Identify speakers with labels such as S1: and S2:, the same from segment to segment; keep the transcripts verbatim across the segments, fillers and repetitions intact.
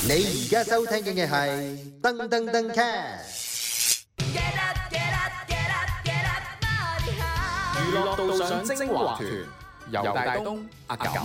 S1: 你而家收聽嘅係噔噔噔 cast。
S2: 娛樂道上精華團，游大東、阿感。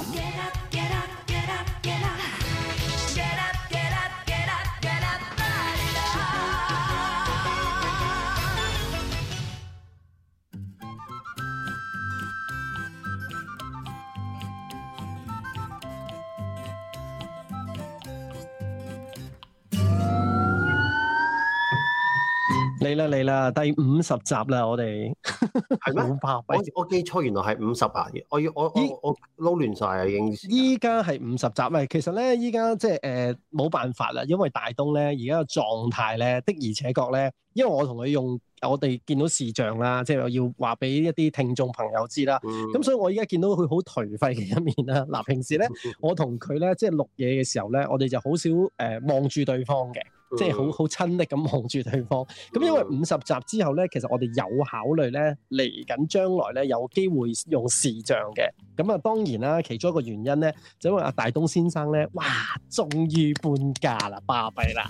S3: 嚟啦嚟啦，第五十集啦，我哋
S4: 係咩？我我記錯，原來係五十啊！我要我我我撈亂晒啊，已經。
S3: 依家係五十集啊！其實咧，依家即係誒冇辦法啦，因為大東咧而家個狀態咧的而且確咧，因為我同佢用我哋見到視像啦，即係我要話俾一啲聽眾朋友知啦。咁、嗯、所以我依家見到佢好頹廢嘅一面啦。嗱，平時咧我同佢咧即係錄嘢嘅時候咧，我哋就好少誒望住對方嘅。即係好好親昵咁望住對方，咁因為五十集之後咧，其實我哋有考慮咧嚟緊將來咧有機會用視像嘅，咁啊當然啦，其中一個原因咧就因為阿大東先生咧，哇，終於搬家啦，巴閉啦！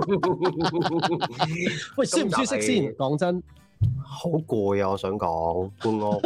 S3: 喂，舒唔舒適先？講真，
S4: 好攰啊！我想講搬屋，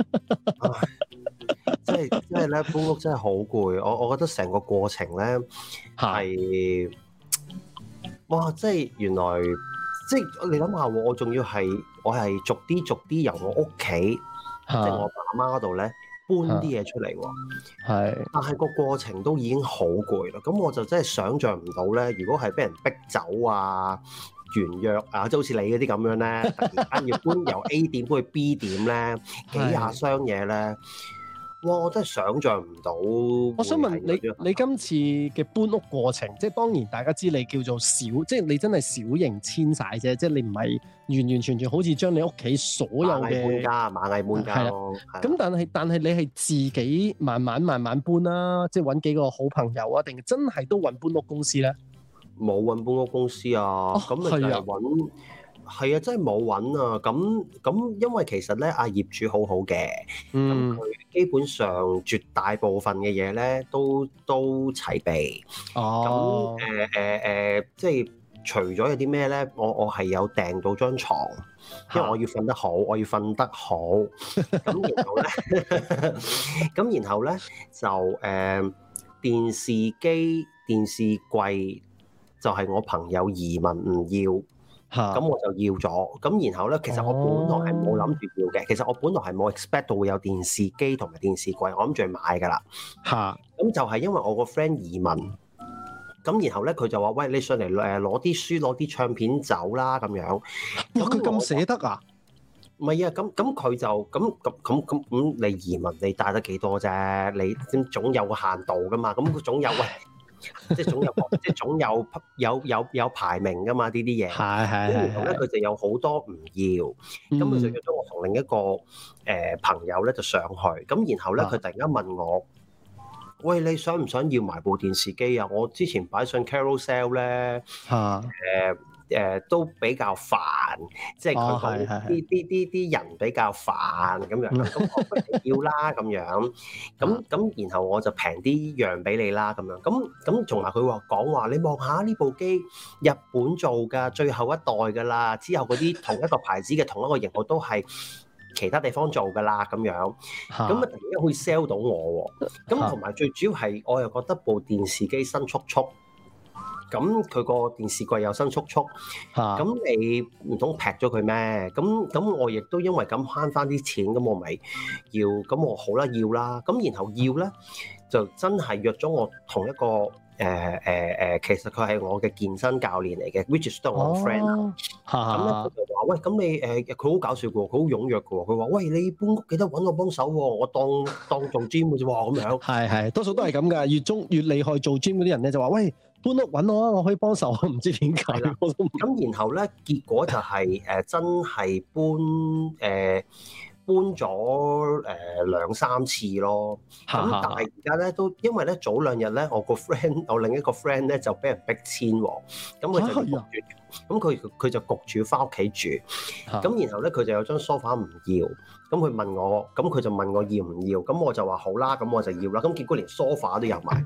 S4: 即係即係咧搬屋真係好攰，我我覺得成個過程咧係。哇！即係原來，即係你諗下喎，我仲要係我係逐啲逐啲由我屋企，即係我爸媽嗰度咧搬啲嘢出嚟喎。係，但係個過程都已經好攰啦。咁我就真係想像唔到咧，如果係俾人逼走啊、完約啊，即係好似你嗰啲咁樣咧，突然間要搬由 A 點搬去 B 點咧，幾廿箱嘢咧。哇！我真係想像唔到。
S3: 我想問你，你今次嘅搬屋過程，即係當然大家知你叫做小，即係你真係小型遷徙啫，即係你唔係完完全全好似將你屋企所有嘅螞蟻搬家、螞蟻搬家咯。咁但係但係你係自己慢慢慢慢搬啦，即係揾幾個好朋友啊，定真係都揾搬屋公司咧？
S4: 冇揾搬屋公司啊，咁咪就係揾。係啊，真係冇揾啊！咁咁，因為其實咧，阿業主好好嘅，咁佢基本上絕大部分嘅嘢咧都都齊備。哦。咁誒誒誒，即係除咗有啲咩咧，我我係有訂到張床，因為我要瞓得好，我要瞓得好。咁然後咧，咁然後咧就誒、呃、電視機、電視櫃就係我朋友移民唔要。咁我就要咗，咁然後咧，其實我本來係冇諗住要嘅，其實我本來係冇 expect 到會有電視機同埋電視櫃，我諗住去買噶啦。嚇！咁就係因為我個 friend 移民，咁然後咧佢就話：喂，你上嚟誒攞啲書、攞啲唱片走啦咁樣。
S3: 哇！佢咁捨得啊？
S4: 唔係啊，咁咁佢就咁咁咁咁咁，你移民你帶得幾多啫？你總有個限度噶嘛，咁佢總有喂。即係總有，即係總有有有有排名噶嘛？呢啲嘢係係係。然後咧，佢就有好多唔要，咁佢就約咗我同另一個誒、呃、朋友咧就上去。咁然後咧，佢突然間問我：喂，你想唔想要埋部電視機啊？我之前擺上 Carousell 咧，誒、呃。誒、呃、都比較煩，即係佢講啲啲啲啲人比較煩咁樣，咁我不如要啦咁樣，咁咁然後我就平啲讓俾你啦咁樣，咁咁同埋佢話講話你望下呢部機日本做㗎，最後一代㗎啦，之後嗰啲同一個牌子嘅同一個型號都係其他地方做㗎啦咁樣，咁啊突然間可以 sell 到我喎，咁同埋最主要係我又覺得部電視機新速速。咁佢個電視櫃又新速速，咁、啊、你唔通劈咗佢咩？咁咁我亦都因為咁慳翻啲錢，咁我咪要，咁我好啦要啦，咁然後要咧就真係約咗我同一個誒誒誒，其實佢係我嘅健身教練嚟嘅 which is 都係我 friend 啊。咁咧佢就話：喂，咁你誒佢好搞笑嘅喎，佢好踴躍嘅喎。佢話：喂，你搬屋記得揾我幫手喎，我當當做 gym 嘅啫喎，咁樣。係係，多數都係咁㗎。越中越厲害做 gym 嗰啲人咧，就話：喂，搬屋揾我啊，我可以幫手。唔知點解。咁然後咧，結果就係、是、誒、呃、真係搬誒。呃搬咗誒、呃、兩三次咯，咁但係而家咧都因為咧早兩日咧我個 friend 我另一個 friend 咧就俾人逼遷喎，咁佢就焗住，咁佢佢就焗住翻屋企住，咁然後咧佢就有張梳化唔要，咁佢問我，咁佢就問我要唔要，咁我就話好啦，咁我就要啦，咁結果連梳化都有埋，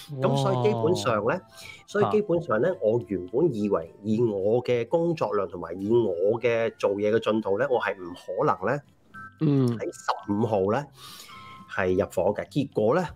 S4: 咁所以基本上咧，所以基本上咧，我原本以為以我嘅工作量同埋以我嘅做嘢嘅進度咧，我係唔可能咧，
S3: 嗯，
S4: 喺十五號咧係入伙嘅。結果咧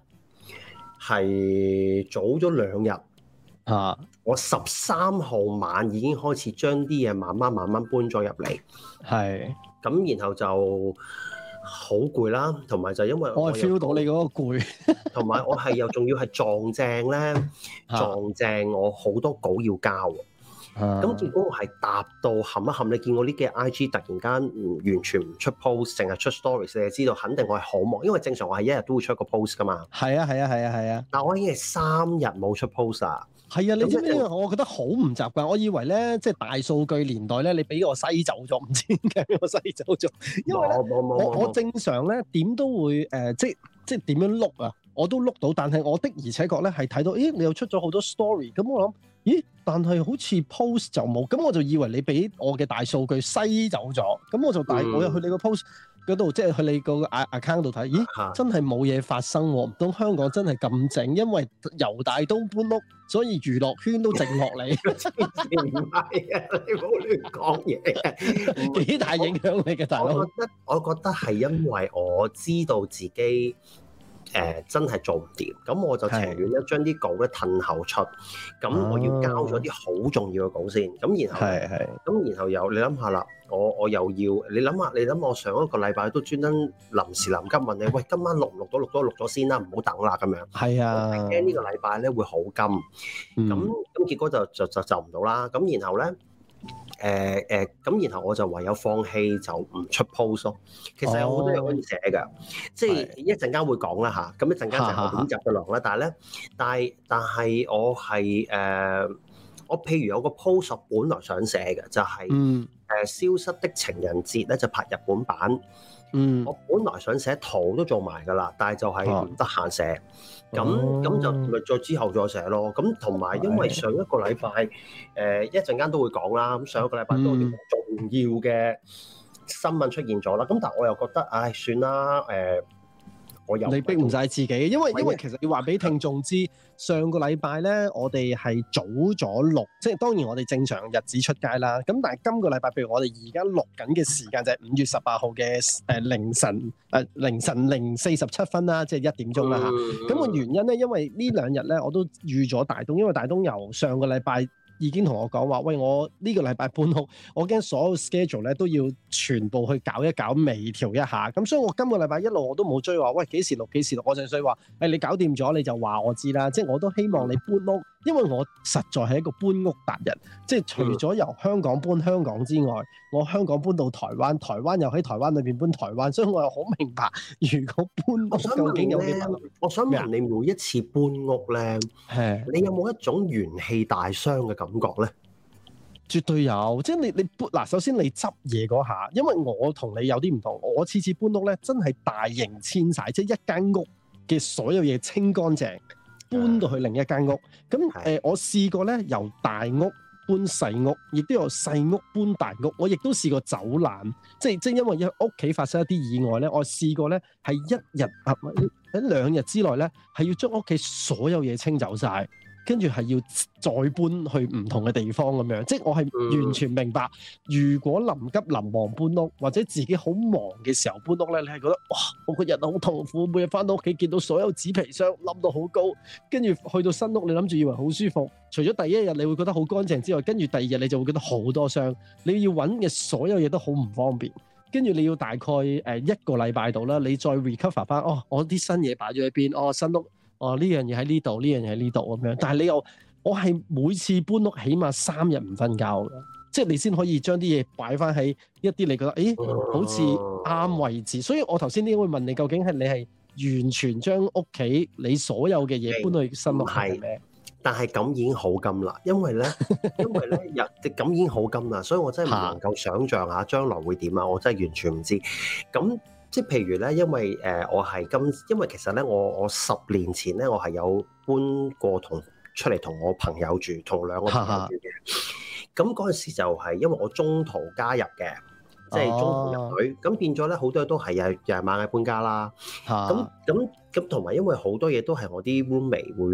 S4: 係早咗兩日。
S3: 啊！
S4: 我十三號晚已經開始將啲嘢慢慢慢慢搬咗入嚟，
S3: 係
S4: 咁然後就好攰啦，同埋就因為
S3: 我係 feel 到你嗰個攰，
S4: 同埋我係又仲要係撞正咧，撞正我好多稿要交，咁、啊、結果我係搭到冚一冚，你見我呢幾日 I G 突然間唔完全唔出 post，淨係出 stories，你就知道肯定我係好忙，因為正常我係一日都會出一個 post 噶嘛。係啊係啊係啊係啊！但我已經係三日冇出 post 啊。
S3: 係啊，你知唔知？我覺得好唔習慣。我以為咧，即係大數據年代咧，你俾我篩走咗，唔知點解俾我篩走咗。因為咧，我我正常咧點都會誒、呃，即係即係點樣碌啊，我都碌到。但係我的而且確咧係睇到，咦，你又出咗好多 story。咁我諗，咦，但係好似 post 就冇。咁我就以為你俾我嘅大數據篩走咗。咁我就大、嗯、我又去你個 post嗰度，即係去你個 account 度睇，咦，真係冇嘢發生喎！唔通香港真係咁靜？因為由大東搬屋，所以娛樂圈都靜落嚟。唔係啊，你唔好亂講嘢，幾大影響你嘅大佬？
S4: 我覺得我覺得係因為我知道自己誒、呃、真係做唔掂，咁我就情願咧將啲稿咧褪後出，咁我要交咗啲好重要嘅稿先，咁然後係係，咁然後又你諗下啦。我我又要你諗下，你諗我上一個禮拜都專登臨時臨急問你，喂，今晚錄唔錄到？錄到錄咗先啦，唔好等啦咁樣。係啊，我驚呢個禮拜咧會好金，咁、嗯、咁結果就就就就唔到啦。咁然後咧，誒、呃、誒，咁、呃、然後我就唯有放棄，就唔出 post 咯。其實有好多嘢可以寫㗎、哦，即係一陣間會講啦嚇。咁一陣間就係我點集嘅量啦。但係咧，但係但係我係誒、呃，我譬如有個 post 本來想寫嘅，就係、是。嗯誒消失的情人節咧就拍日本版，嗯，我本來想寫圖都做埋㗎啦，但係就係唔得閒寫，咁、啊、咁就咪再之後再寫咯。咁同埋因為上一個禮拜誒一陣間都會講啦，咁上一個禮拜都有啲好重要嘅新聞出現咗啦。咁、嗯、但係我又覺得，唉，算啦，誒、呃。我你逼唔晒自己，因為因為其實要話俾聽眾知，上個禮拜咧，我哋係早咗錄，即係當然我哋正常日子出街啦。咁但係今個禮拜，譬如我哋而家錄緊嘅時間就係五月十八號嘅誒凌晨誒、呃、凌晨零四十七分啦，即係一點鐘啦嚇。咁、嗯、個原因咧，因為呢兩日咧我都預咗大東，因為大東由上個禮拜已經同我講話，喂，我呢個禮拜搬屋，我驚所有 schedule 咧都要全部去搞一搞，微調一下。咁所以我今個禮拜一路我都冇追話，喂，幾時錄幾時錄，我淨係想話，誒、哎、你搞掂咗你就話我知啦。即係我都希望你搬屋，因為我實在係一個搬屋達人。即係除咗由香港搬香港之外，我香港搬到台灣，台灣又喺台灣裏邊搬台灣，所以我又好明白，如果搬屋究竟有幾難。我想問你，每一次搬屋咧，你有冇一種元氣大傷嘅感覺咧？絕對有，即係你你搬嗱，首先你執嘢嗰下，因為我同你有啲唔同，我次次搬屋咧真係大型遷徙，即係一間屋嘅所有嘢清乾淨，搬到去另一間屋。咁誒、呃，我試過咧由大屋搬細屋，亦都有細屋搬大屋。我亦都試過走難，即係即係因為屋企發生一啲意外咧，我試過咧係一日啊喺兩日之內咧係要將屋企所有嘢清走晒。跟住係要再搬去唔同嘅地方咁樣，即係我係完全明白。如果臨急臨忙搬屋，或者自己好忙嘅時候搬屋咧，你係覺得哇，我個日好痛苦，每日翻到屋企見到所有紙皮箱冧到好高，跟住去到新屋，你諗住以為好舒服，除咗第一日你會覺得好乾淨之外，跟住第二日你就會覺得好多箱，你要揾嘅所有嘢都好唔方便。跟住你要大概誒一個禮拜度啦，你再 recover 翻，哦，我啲新嘢擺咗喺邊，哦，新屋。哦，呢樣嘢喺呢度，呢樣嘢喺呢度咁樣，但係你又，我係每次搬屋起碼三日唔瞓覺嘅，即係你先可以將啲嘢擺翻喺一啲你覺得，誒，好似啱位置。所以我頭先點會問你，究竟係你係完全將屋企你所有嘅嘢搬去新屋係咩？但係咁已經好金啦，因為咧，因為咧，日咁已經好金啦，所以我真係唔能夠想像下將來會點啊！我真係完全唔知咁。即係譬如咧，因為誒、呃、我係今，因為其實咧，我我十年前咧，我係有搬過同出嚟同我朋友住，同兩個朋友住嘅。咁嗰陣時就係因為我中途加入嘅，即係中途入隊，咁、哦、變咗咧好多嘢都係又又係螞蟻搬家啦。咁咁咁同埋因為好多嘢都係我啲 roommate 會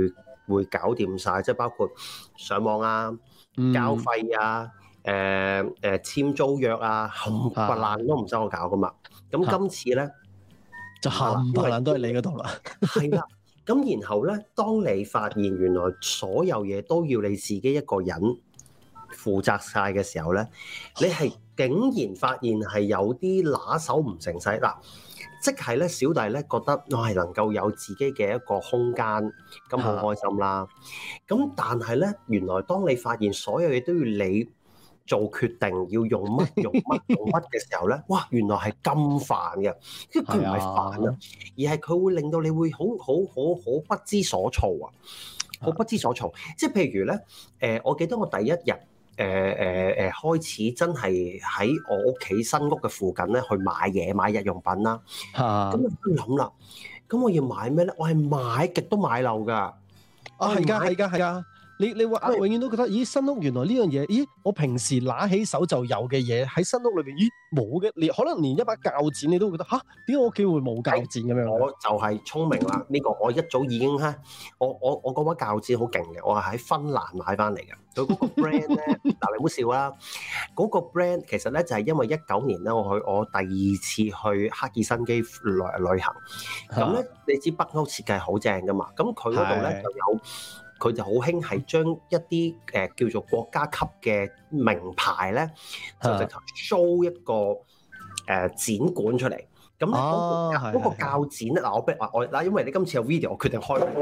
S4: 會搞掂晒，即係包括上網啊、交費啊、誒、呃、誒、呃、簽租約啊，冚唪唥都唔使我搞噶嘛。咁今次咧
S3: 就冚唪唥都係你嗰度啦。
S4: 係啦，咁然後咧，當你發現原來所有嘢都要你自己一個人負責晒嘅時候咧，你係竟然發現係有啲拿手唔成勢嗱。即係咧，小弟咧覺得我係能夠有自己嘅一個空間，咁好開心啦。咁但係咧，原來當你發現所有嘢都要你做決定，要用乜用乜用乜嘅時候咧，哇！原來係咁煩嘅，因為佢唔係煩啊，而係佢會令到你會好好好好不知所措啊，好不知所措。即係譬如咧，誒，我記得我第一日。誒誒誒開始真係喺我屋企新屋嘅附近咧去買嘢買日用品啦，咁我諗啦，咁我要買咩咧？我係買極都買漏㗎，啊
S3: 係㗎係㗎係㗎。你你話啊，永遠都覺得，咦新屋原來呢樣嘢，咦我平時拿起手就有嘅嘢喺新屋裏邊，咦冇嘅，連可能連一把鉸剪你都會覺得吓，點解我屋企會冇鉸剪咁樣？我就係聰明啦，呢、這個我一早已經咧，我我我嗰把鉸剪好勁嘅，我係喺芬蘭買翻嚟嘅。佢嗰個 brand 咧，嗱你唔好笑啦，嗰、那個 brand 其實咧就係因為一九年咧，我去我第二次去赫爾辛基旅旅行，咁咧你知北歐設計好正噶嘛，咁佢嗰度咧就有。佢就好興係將一啲誒、呃、叫做國家級嘅名牌咧，就直頭 show 一個誒、呃、展館出嚟。咁咧嗰個嗰個鉸剪咧，嗱我逼我嗱，因為你今次有 video，我決定開。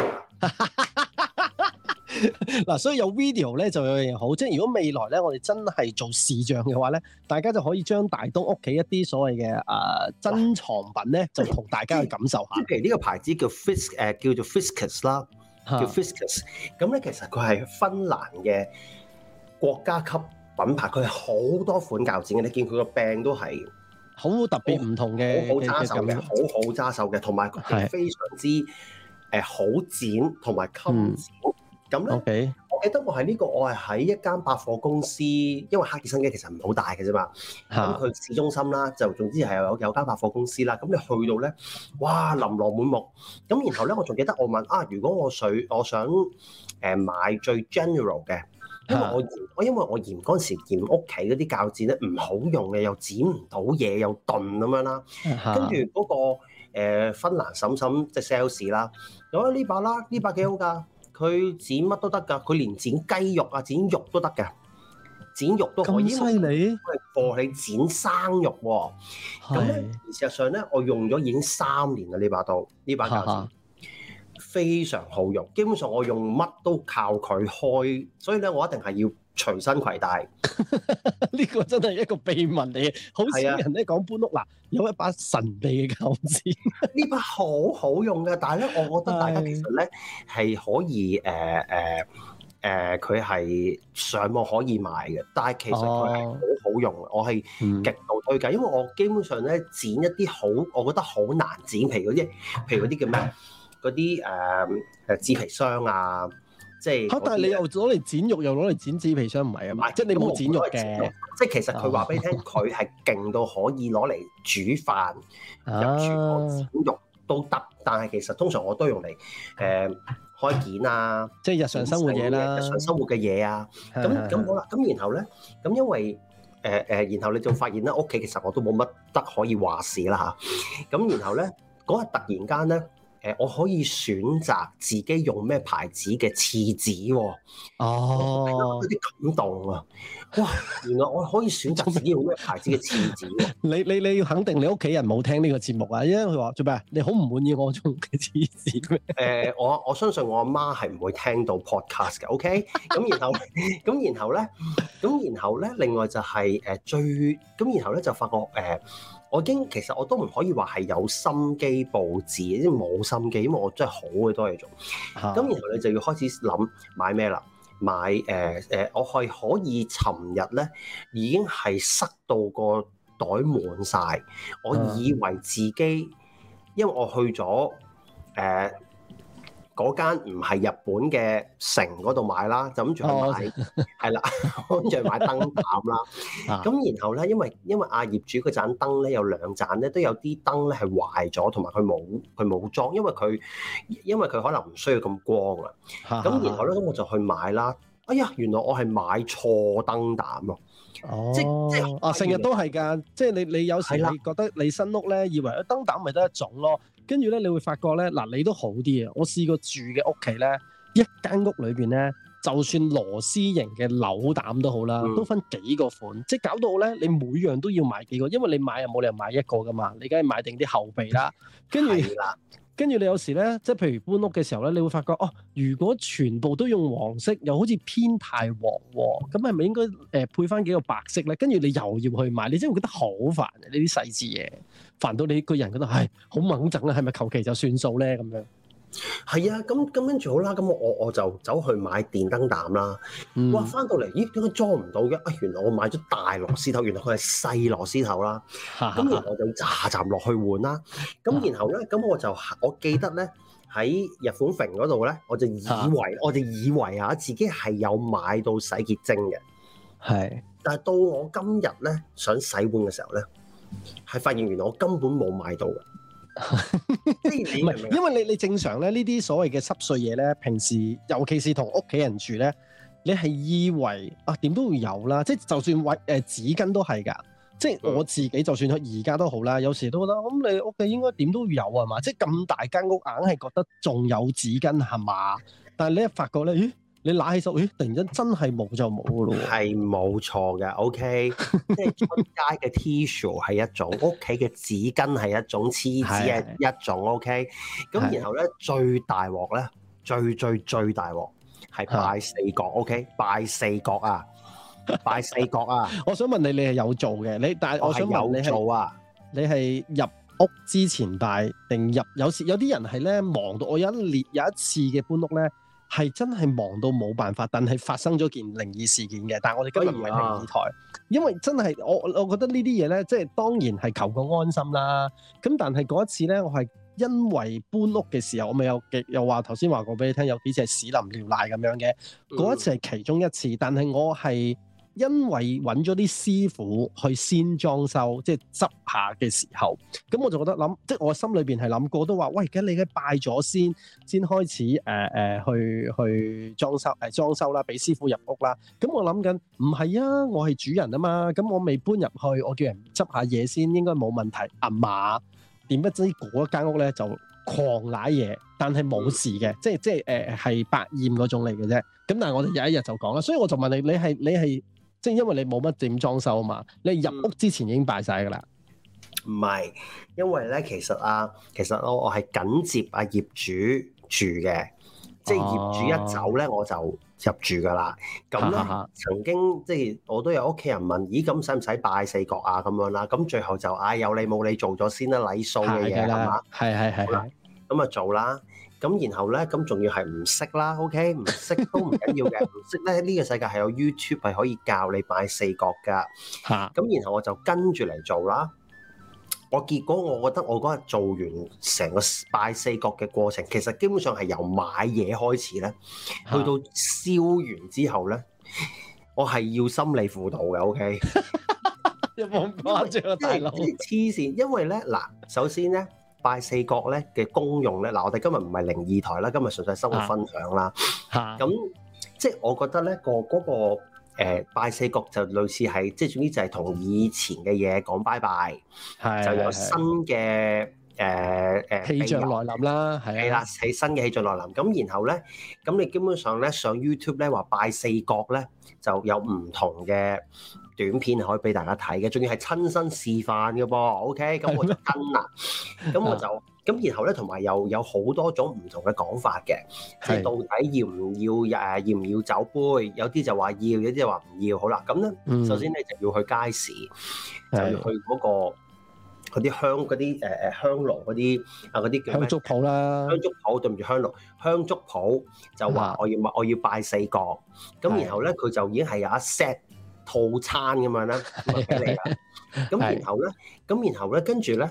S3: 嗱，所以有 video 咧就有樣嘢好，即係如果未來咧我哋真係做視像嘅話咧，大家就可以將大東屋企一啲所謂嘅誒、呃、珍藏品咧，就同大家去感受下。即係
S4: 譬如呢個牌子叫 Fisk 誒、呃、叫做 Fiskus 啦。叫 Fiskus， 咁咧其實佢係芬蘭嘅國家級品牌，佢係好多款鉸剪嘅，你見佢個柄都係
S3: 好特別唔同嘅，
S4: 好揸手嘅，好好揸手嘅，同埋佢係非常之誒好剪同埋襟剪。咁咧、嗯，我記得我係呢、這個，我係喺一間百貨公司，因為赫爾辛基其實唔係好大嘅啫嘛。咁佢市中心啦，就總之係有有間百貨公司啦。咁你去到咧，哇，琳琅滿目。咁然後咧，我仲記得我問啊，如果我想我想誒買最 general 嘅，因為我嫌我因為我嫌嗰陣時嫌屋企嗰啲鉸剪咧唔好用嘅，又剪唔到嘢，又鈍咁樣啦。跟住嗰個、呃、芬蘭嬸嬸即係 sales 啦，有呢把啦，呢把幾好㗎。佢剪乜都得㗎，佢連剪雞肉啊、剪肉都得嘅，剪肉都可以。咁犀利！佢係幫你剪生肉喎。咁咧，事實上咧，我用咗已經三年啦呢把刀，呢把鉸剪非常好用。基本上我用乜都靠佢開，所以咧我一定係要隨身攜帶。
S3: 呢個真係一個秘密嚟嘅，好少人咧講搬屋嗱，有一把神秘嘅鉸剪。呢
S4: 把好好用嘅，但係咧，我覺得大家其實咧係可以誒誒誒，佢、呃、係、呃、上網可以買嘅，但係其實佢係好好用，哦、我係極度推介，嗯、因為我基本上咧剪一啲好，我覺得好難剪皮嗰啲，譬如嗰啲叫咩？嗰啲誒誒紙皮箱啊。即係嚇，但係你又攞嚟剪肉，又攞嚟剪紙皮箱，唔係啊嘛？即係你冇剪肉嘅。即係其實佢話俾你聽，佢係勁到可以攞嚟煮飯、入廚房剪肉都得。但係其實通常我都用嚟誒、呃、開件啊，
S3: 即係日常生活嘢啦，
S4: 日常生活嘅嘢啊。咁咁好啦，咁然後咧，咁因為誒誒、呃，然後你就發現咧，屋企其實我都冇乜得可以話事啦嚇。咁然後咧，嗰日突然間咧。誒，我可以選擇自己用咩牌子嘅廁紙喎。哦，有啲感動啊！哇，原來我可以選擇自己用咩牌子嘅廁紙喎。你你你要肯定你屋企人冇聽呢個節目啊，因為佢話做咩？你好唔滿意我用嘅廁紙咩？誒、呃，我我相信我阿媽係唔會聽到 podcast 嘅。OK，咁然後咁然後咧，咁然後咧，另外就係誒最咁，然後咧就發覺誒。呃我已經其實我都唔可以話係有心機佈置，即係冇心機，因為我真係好嘅多嘢做。咁、啊、然後你就要開始諗買咩啦？買誒誒、呃，我係可以尋日咧已經係塞到個袋滿晒。我以為自己，因為我去咗誒嗰間唔係日本嘅城嗰度買啦，就諗住去買係啦，諗住去買燈膽啦。咁然後咧，因為因為阿業主嗰盞燈咧有兩盞咧都有啲燈咧係壞咗，同埋佢冇佢冇裝，因為佢因為佢可能唔需要咁光啊。咁然後咧，咁我就去買啦。哎呀，原來我係買錯燈膽咯。
S3: 哦，
S4: 即即
S3: 啊，成日都係㗎，即係你你有時你覺得你新屋咧，以為燈膽咪得一種咯，跟住咧你會發覺咧，嗱你都好啲啊！我試過住嘅屋企咧，一間屋裏邊咧，就算螺絲型嘅扭膽都好啦，嗯、都分幾個款，即係搞到咧你每樣都要買幾個，因為你買又冇理由買一個㗎嘛，你梗係買定啲後備啦，跟住。跟住你有時咧，即係譬如搬屋嘅時候咧，你會發覺哦，如果全部都用黃色，又好似偏太黃喎，咁係咪應該誒、呃、配翻幾個白色咧？跟住你又要去買，你真係會覺得好煩啊！呢啲細節嘢，煩到你個人覺得係好掹整啊，係咪求其就算數咧咁樣？
S4: 係啊，咁咁跟住好啦，咁我我我就走去買電燈膽啦。嗯、哇，翻到嚟，咦，點解裝唔到嘅？啊，原來我買咗大螺絲頭，原來佢係細螺絲頭啦。咁然後我就扎扎落去換啦。咁然後咧，咁我就我記得咧喺日本城嗰度咧，我就以為我就以為啊自己係有買到洗潔精嘅。係是，但係到我今日咧想洗碗嘅時候咧，係發現原來我根本冇買到嘅。唔係，因為你你正常咧呢啲所謂嘅濕碎嘢咧，平時尤其是同屋企人住咧，你係以為啊點都會有啦，即係就算為誒紙巾都係㗎，即係我自己就算而家都好啦，有時都覺得咁你屋企應該點都有啊嘛，即係咁大間屋硬係覺得仲有紙巾係嘛，但係你一發覺咧，咦？你揦起手，咦？突然間真係冇就冇噶咯喎！係冇錯嘅 ，OK，即係出街嘅 tissue 係一種，屋企嘅紙巾係一種，廁紙係一種，OK。咁然後咧，最大鑊咧，最最最大鑊係拜四角，OK，拜四角啊，拜四角啊！我想問你，你係有做嘅？你但係我想問你係做啊？你係入屋之前拜定入？有時有啲人係咧忙到我有一列有一次嘅搬屋咧。係真係忙到冇辦法，但係發生咗件靈異事件嘅。但係我哋今日唔係靈異台，哎、呀因為真係我我覺得呢啲嘢咧，即係當然係求個安心啦。咁但係嗰一次咧，我係因為搬屋嘅時候，我咪有又話頭先話過俾你聽，有幾次係屎淋尿瀨咁樣嘅。嗰、嗯、一次係其中一次，但係我係因為揾咗啲師傅去先裝修，即係執下嘅時候，咁我就覺得諗，即係我心裏邊係諗過，都話喂，咁你嘅拜咗先，先開始誒誒、呃、去去裝修誒、呃、裝修啦，俾師傅入屋啦。咁我諗緊，唔係啊，我係主人啊嘛，咁我未搬入去，我叫人執下嘢先，應該冇問題啊嘛。點不知嗰間屋咧就狂瀨嘢，但係冇事嘅，即係即係誒係百厭嗰種嚟嘅啫。咁但係我哋有一日就講啦，所以我就問你，你係你係。即係因為你冇乜點裝修啊嘛，你入屋之前已經拜晒㗎啦。唔係、嗯，因為咧其實啊，其實我我係緊接阿業主住嘅，即係業主一走咧我就入住㗎啦。咁咧、啊、曾經即係我都有屋企人問，咦咁使唔使拜四角啊咁樣啦？咁最後就唉、哎、有你冇你做咗先啦，禮數嘅嘢係嘛？係係係。咁啊做啦。咁然後咧，咁仲要係唔識啦 ，OK， 唔識都唔緊要嘅，唔識咧呢個世界係有 YouTube 係可以教你拜四角噶。嚇！咁然後我就跟住嚟做啦。我結果我覺得我嗰日做完成個拜四角嘅過程，其實基本上係由買嘢開始咧，去到燒完之後咧，我係要心理輔導嘅 ，OK。有冇咁誇張啊，大佬？黐線，因為咧嗱，首先咧。拜四角咧嘅功用咧，嗱我哋今日唔係靈異台啦，今日純粹生活分享啦。咁、啊、即係我覺得咧個嗰個、呃、拜四角就類似係即係總之就係同以前嘅嘢講拜拜，是就有新嘅誒誒氣象來臨啦，係啦，喺新嘅氣象來臨。咁然後咧，咁你基本上咧上 YouTube 咧話拜四角咧就有唔同嘅短片可以俾大家睇嘅，仲要係親身示範嘅噃 ，OK？咁我就跟啦，咁我就咁，然後咧同埋又有好多種唔同嘅講法嘅，即係到底要唔要誒，要唔要酒杯？有啲就話要，有啲就話唔要。好啦，咁咧，嗯、首先你就要去街市，就要去嗰、嗰個嗰啲香嗰啲誒誒香爐嗰啲啊嗰啲叫香燭鋪啦，香燭鋪對唔住香爐香燭鋪就話我要我要拜四角，咁然後咧佢就已經係有一 set。套餐咁樣啦，俾你啦。咁然後咧，咁然後咧，跟住咧，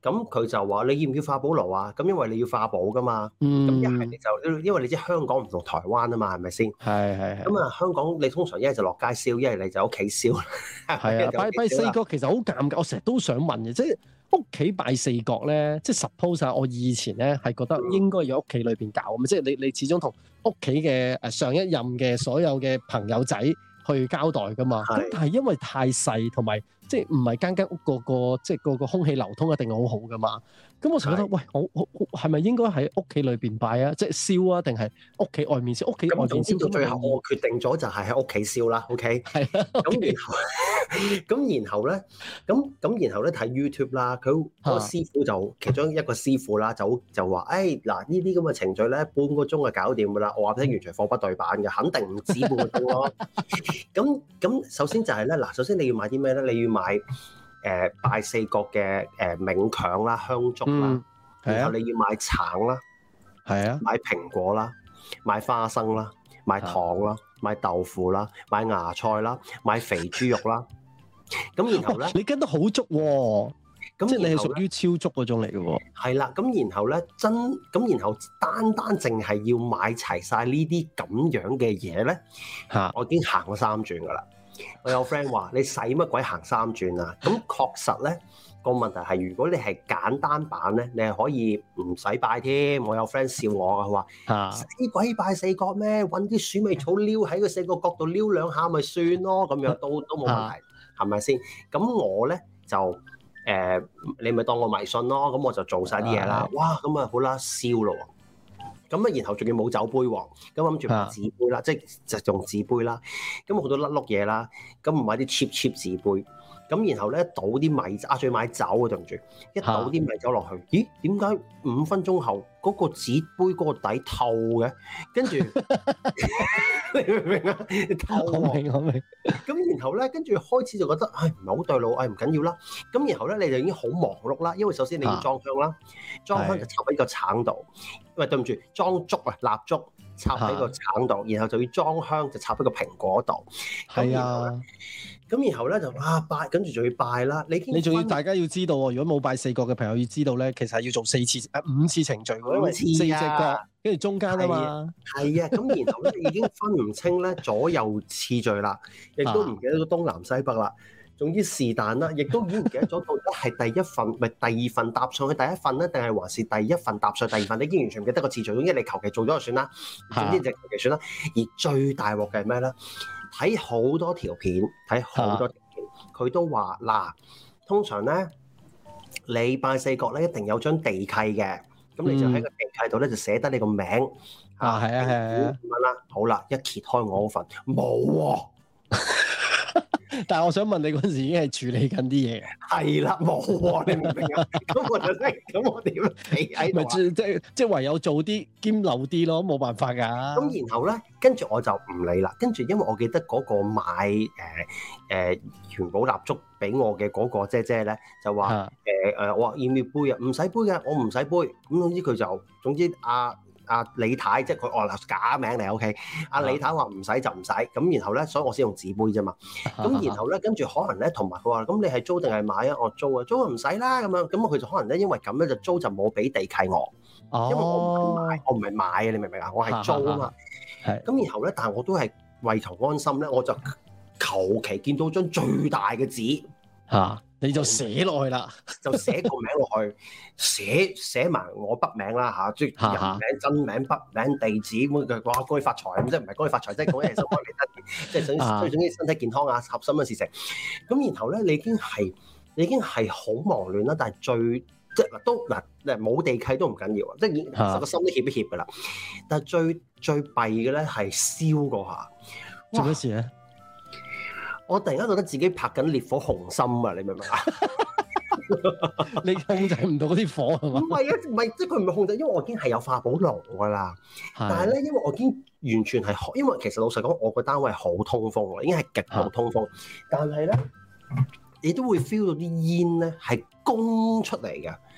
S4: 咁佢就話你要唔要化寶爐啊？咁因為你要化寶噶嘛。咁一係你就因為你知香港唔同台灣啊嘛，係咪先？
S3: 係係係。
S4: 咁啊，香港你通常一係就落街燒，一係你就屋企燒。
S3: 係啊，拜拜四角其實好尷尬，我成日都想問嘅，即係屋企拜四角咧，即係 suppose 啊，我以前咧係覺得應該要屋企裏邊搞咁，即係你你始終同屋企嘅誒上一任嘅所有嘅朋友仔去交代噶嘛。咁但係因為太細同埋。即係唔係間間屋個個即係個個空氣流通一定好好噶嘛？咁我成日覺得，喂，我我係咪應該喺屋企裏邊拜啊？即係燒啊，定係屋企外面燒？屋企外面燒到最後，
S4: 我決定咗就係喺屋企燒啦。OK，
S3: 係啦。
S4: 咁然後咁然後咧，咁咁然後咧睇 YouTube 啦，佢嗰個師傅就其中一個師傅啦，就就話：誒嗱呢啲咁嘅程序咧，半個鐘就搞掂㗎啦。我話俾你聽，完全貨不對版嘅，肯定唔止半個鐘咯。咁咁首先就係咧，嗱，首先你要買啲咩咧？你要買誒、呃、拜四角嘅誒冥鏹啦、香燭啦，嗯啊、然後你要買橙啦，
S3: 係啊，
S4: 買蘋果啦，買花生啦，買糖啦，買豆腐啦，買芽菜啦，買肥豬肉啦。咁然後咧，你跟得好足喎，咁即係你係屬於超足嗰種嚟嘅喎。係啦，咁然後咧真咁，然後單單淨係要買齊晒呢啲咁樣嘅嘢咧，嚇，我已經行咗三轉噶啦。我有 friend 話：你使乜鬼行三轉啊？咁確實咧，個問題係，如果你係簡單版咧，你係可以唔使拜添。我有 friend 笑我啊，佢話：使鬼拜四角咩？揾啲鼠尾草撩喺個四個角度撩兩下咪算咯，咁樣都都冇問題，係咪先？咁我咧就誒、呃，你咪當我迷信咯。咁我就做晒啲嘢啦。哇！咁啊好啦，燒咯。咁啊，然後仲要冇酒杯喎，咁諗住買紙杯啦，啊、即係就用紙杯啦。咁好多甩碌嘢啦，咁唔買啲 cheap cheap 紙杯。咁然後咧倒啲米啊，仲要買酒啊，對唔住，一倒啲米酒落去，咦？點解五分鐘後嗰、嗰個紙杯嗰個底透嘅？跟住你明唔明啊？透
S3: 我明我明。
S4: 咁然後咧，跟住開始就覺得唉唔係好對路，唉唔緊要啦。咁然後咧你就已經好忙碌啦，因為首先你要裝香啦，裝、啊、香就插喺個橙度。喂，對唔住，裝燭啊，蠟燭插喺個橙度，然後就要裝香就插喺個蘋果度。係啊。咁然後咧就啊拜，跟住仲要拜啦。你
S3: 你仲要大家要知道喎，如果冇拜四角嘅朋友要知道咧，其實係要做四次誒、啊、五次程序喎，因為四隻角跟住中間啊嘛。係啊，咁、啊、然後咧已經分唔清咧左右次序啦，亦都唔記得咗東南西北啦。總之是但啦，亦都已經唔記得咗到底係第一份咪第二份搭上去第一份咧，定係還是第一份搭上第二份？你已經完全唔記得個次序。總之你求其做咗就算啦，總之就求其算啦。而最大鑊嘅係咩咧？睇好多條片，睇好多條片，佢、啊、都話嗱，通常咧你拜四角咧一定有張地契嘅，咁你就喺個地契度咧就寫得你個名啊，係啊係啊
S4: 咁樣啦。好啦，一揭開我嗰份冇喎。
S3: 但係我想問你嗰陣時已經係處理緊啲嘢，
S4: 係啦，冇喎，你明唔明啊？咁我就即係，咁我點企喺度啊？
S3: 即即即唯有做啲兼漏啲咯，冇辦法㗎。
S4: 咁然後咧，跟住我就唔理啦。跟住因為我記得嗰個買誒誒元寶蠟燭俾我嘅嗰個姐姐咧，就話誒誒，我話要唔要杯啊？唔使杯嘅，我唔使杯。咁總之佢就總之阿。阿、啊、李太即係佢哦假名嚟 OK， 阿、啊、李太話唔使就唔使，咁然後咧，所以我先用紙杯啫嘛。咁然後咧，跟住可能咧，同埋佢話咁你係租定係買啊？我租啊，租啊唔使啦咁樣。咁佢就可能咧，因為咁咧就租就冇俾地契我，哦、因為我唔係買，我唔係買啊，你明唔明啊？我係租啊嘛。係。咁然後咧，但係我都係為求安心咧，我就求其見到張最大嘅紙
S3: 嚇。你就寫落去啦，
S4: 就寫個名落去，寫寫埋我筆名啦嚇，即係人名、真名、筆名、地址咁嘅。哇，恭喜發財咁，即係唔係恭喜發財，即係講一嘢收開嚟得，即係想最總之身體健康啊，合心嘅事情。咁然後咧，你已經係你已經係好忙亂啦，但係最即係嗱都嗱誒冇地契都唔緊要啊，即係其實個心都怯一怯噶啦。但係最最弊嘅咧係燒嗰下，
S3: 做咩事咧？
S4: 我突然間覺得自己拍緊烈火雄心啊！你明唔明啊？
S3: 你控制唔到嗰啲火係嘛？
S4: 唔係啊，唔係即係佢唔係控制，因為我已經係有化寶爐㗎啦。但係咧，因為我已經完全係，因為其實老實講，我個單位係好通風喎，已經係極度通風。但係咧，你都會 feel 到啲煙咧係攻出嚟嘅。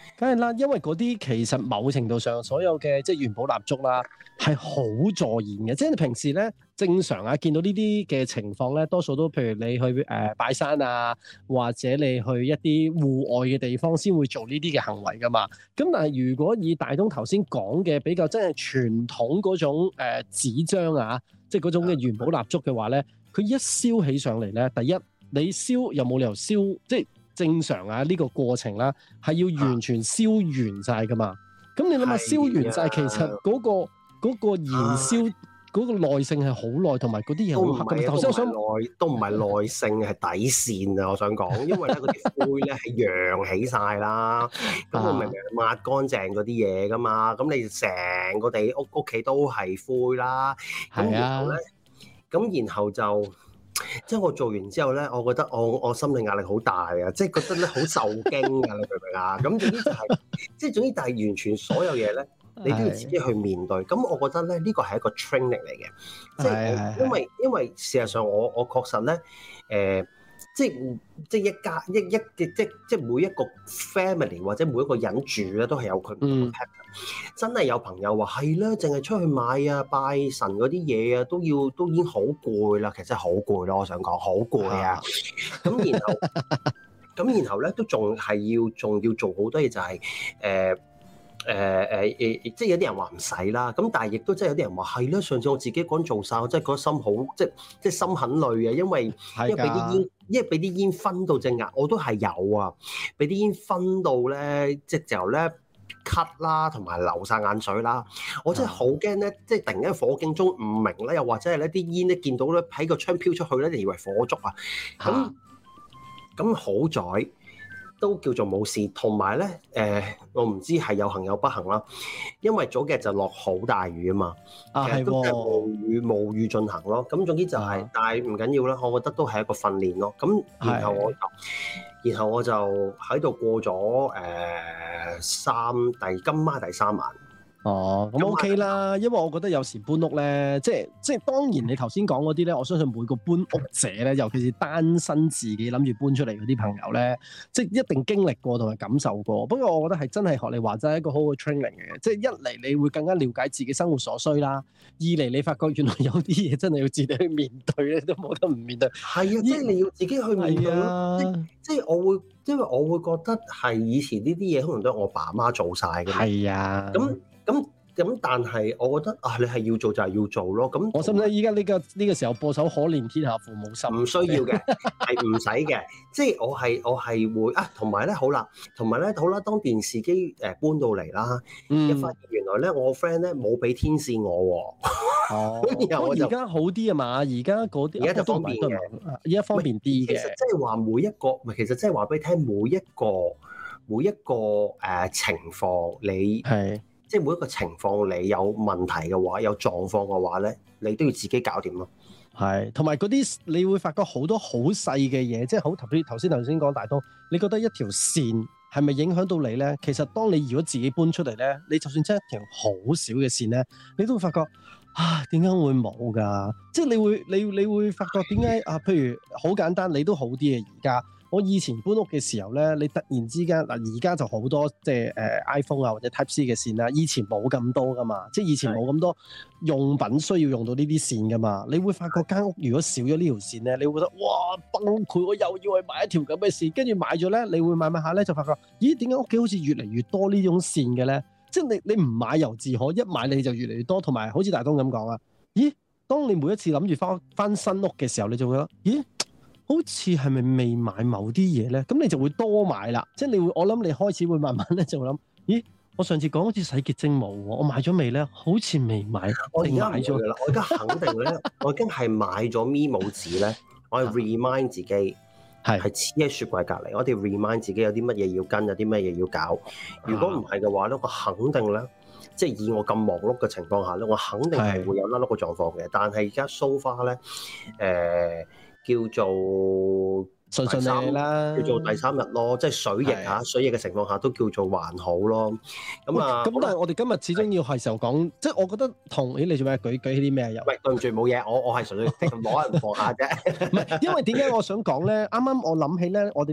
S3: 梗係啦，因為嗰啲其實某程度上所有嘅即係元寶蠟燭啦，係好助燃嘅。即係你平時咧正常啊，見到呢啲嘅情況咧，多數都譬如你去誒、呃、拜山啊，或者你去一啲戶外嘅地方先會做呢啲嘅行為噶嘛。咁但係如果以大東頭先講嘅比較真係傳統嗰種誒、呃、紙張啊，即係嗰種嘅元寶蠟燭嘅話咧，佢一燒起上嚟咧，第一你燒又冇理由燒即係。正常啊，呢、這個過程啦，係要完全燒完晒噶嘛。咁、啊、你諗下，燒完晒，其實嗰、那個嗰、那個燃燒嗰個耐性係好耐，同埋嗰啲嘢好黑。頭先我想耐
S4: 都唔係耐性，係底線啊！我想講，因為咧嗰啲灰咧係揚起晒啦。咁我明明抹乾淨嗰啲嘢噶嘛，咁你成個地屋屋企都係灰啦。咁然後咧，咁然後就。即係我做完之後咧，我覺得我我心理壓力好大啊！即係覺得咧好受驚啊！你明唔明啊？咁總之就係、是，即係總之，但係完全所有嘢咧，你都要自己去面對。咁我覺得咧，呢個係一個 training 嚟嘅，即係因為因為事實上我我確實咧，誒、呃。即係即係一家一一嘅即即係每一個 family 或者每一個人住咧都係有佢唔同嘅 pattern。真係有朋友話係啦，淨係出去買啊拜神嗰啲嘢啊，都要都已經好攰啦。其實好攰咯，我想講好攰啊。咁然後咁然後咧都仲係要仲要做好多嘢，就係誒。誒誒誒，即係有啲人話唔使啦，咁但係亦都真係有啲人話係啦。上次我自己一個人做晒，我真係覺得心好，即係即係心很累啊，因為因為俾啲煙，因為俾啲煙熏到隻眼，我都係有啊，俾啲煙熏到咧，即係就咧咳啦，同埋流晒眼水啦，我真係好驚咧，即係突然間火警鐘唔明咧，又或者係咧啲煙咧見到咧喺個窗飄出去咧，就以為火燭啊，咁咁好在。都叫做冇事，同埋咧誒，我唔知係有幸有不幸啦，因為早幾日就落好大雨啊嘛，啊其實都係無雨無雨進行咯。咁總之就係、是，啊、但係唔緊要啦，我覺得都係一個訓練咯。咁然後我就，然後我就喺度過咗誒、呃、三第今晚第三晚。
S3: 哦，咁 OK 啦，因為我覺得有時搬屋咧，即係即係當然你頭先講嗰啲咧，我相信每個搬屋者咧，尤其是單身自己諗住搬出嚟嗰啲朋友咧，即係一定經歷過同埋感受過。不過我覺得係真係學你話齋一個好好嘅 training 嘅，即係一嚟你會更加了解自己生活所需啦，二嚟你發覺原來有啲嘢真係要自己去面對咧，都冇得唔面對。係啊，即係你要自己去面對咯、啊。即係我會，因為我會覺得係以前呢啲嘢可能都係我爸媽做晒嘅。係啊，咁。咁咁，但係我覺得啊，你係要做就係要做咯。咁我使唔使依家呢個呢、呢個時候播首可憐天下父母心？唔需要嘅，係唔使嘅。即係我係我係會啊，同埋咧好啦，同埋咧好啦。當電視機誒搬到嚟啦，一發現原來咧我 friend 咧冇俾天線我喎。哦，然後我而家好啲啊嘛，而家嗰啲而家就方便嘅，而家方便啲嘅。其實即係話每一個，唔係其實即係話俾你聽，每一個每一個誒、呃、情況你係。即係每一個情況，你有問題嘅話，有狀況嘅話咧，你都要自己搞掂咯。係，同埋嗰啲你會發覺好多好細嘅嘢，即係好特別。頭先頭先講大東，你覺得一條線係咪影響到你咧？其實當你如果自己搬出嚟咧，你就算真係一條好少嘅線咧，你都會發覺啊，點解會冇㗎？即係你會你你會發覺點解啊？譬如好簡單，你都好啲嘅而家。我以前搬屋嘅時候咧，你突然之間嗱，而家就好多即係誒 iPhone 啊或者 Type C 嘅線啦，以前冇咁多噶嘛，即係以前冇咁多用品需要用到呢啲線噶嘛，你會發覺間屋如果少咗呢條線咧，你會覺得哇崩潰，我又要去買一條咁嘅線，跟住買咗咧，你會買買下咧就發覺，咦點解屋企好似越嚟越多呢種線嘅咧？即係你你唔買猶自可，一買你就越嚟越多，同埋好似大東咁講啊，咦？當你每一次諗住翻翻新屋嘅時候，你就會覺得，咦？好似係咪未買某啲嘢咧？咁你就會多買啦。即係你會，我諗你開始會慢慢咧就會諗，咦？我上次講好似洗潔精冇喎，我買咗未咧？好似未買，我而家買咗啦。我而家肯定咧，我已經係買咗咪冇紙咧。我係 remind 自己係係黐喺雪櫃隔離。我哋 remind 自己有啲乜嘢要跟，有啲乜嘢要搞。如果唔係嘅話咧，我肯定咧，即係以我咁忙碌嘅情況下咧，我肯定係會有甩碌嘅狀況嘅。但係而家 so far 咧，誒、呃。叫做順順利利啦，叫做第三日咯，即係水逆嚇，水逆嘅情況下都叫做還好咯。咁啊，咁但係我哋今日始終要係時候講，即係我覺得同咦你做咩舉舉起啲咩又？喂，對唔住冇嘢，我我係純粹攞人放下啫。唔係，因為點解我想講咧？啱啱我諗起咧，我哋呢個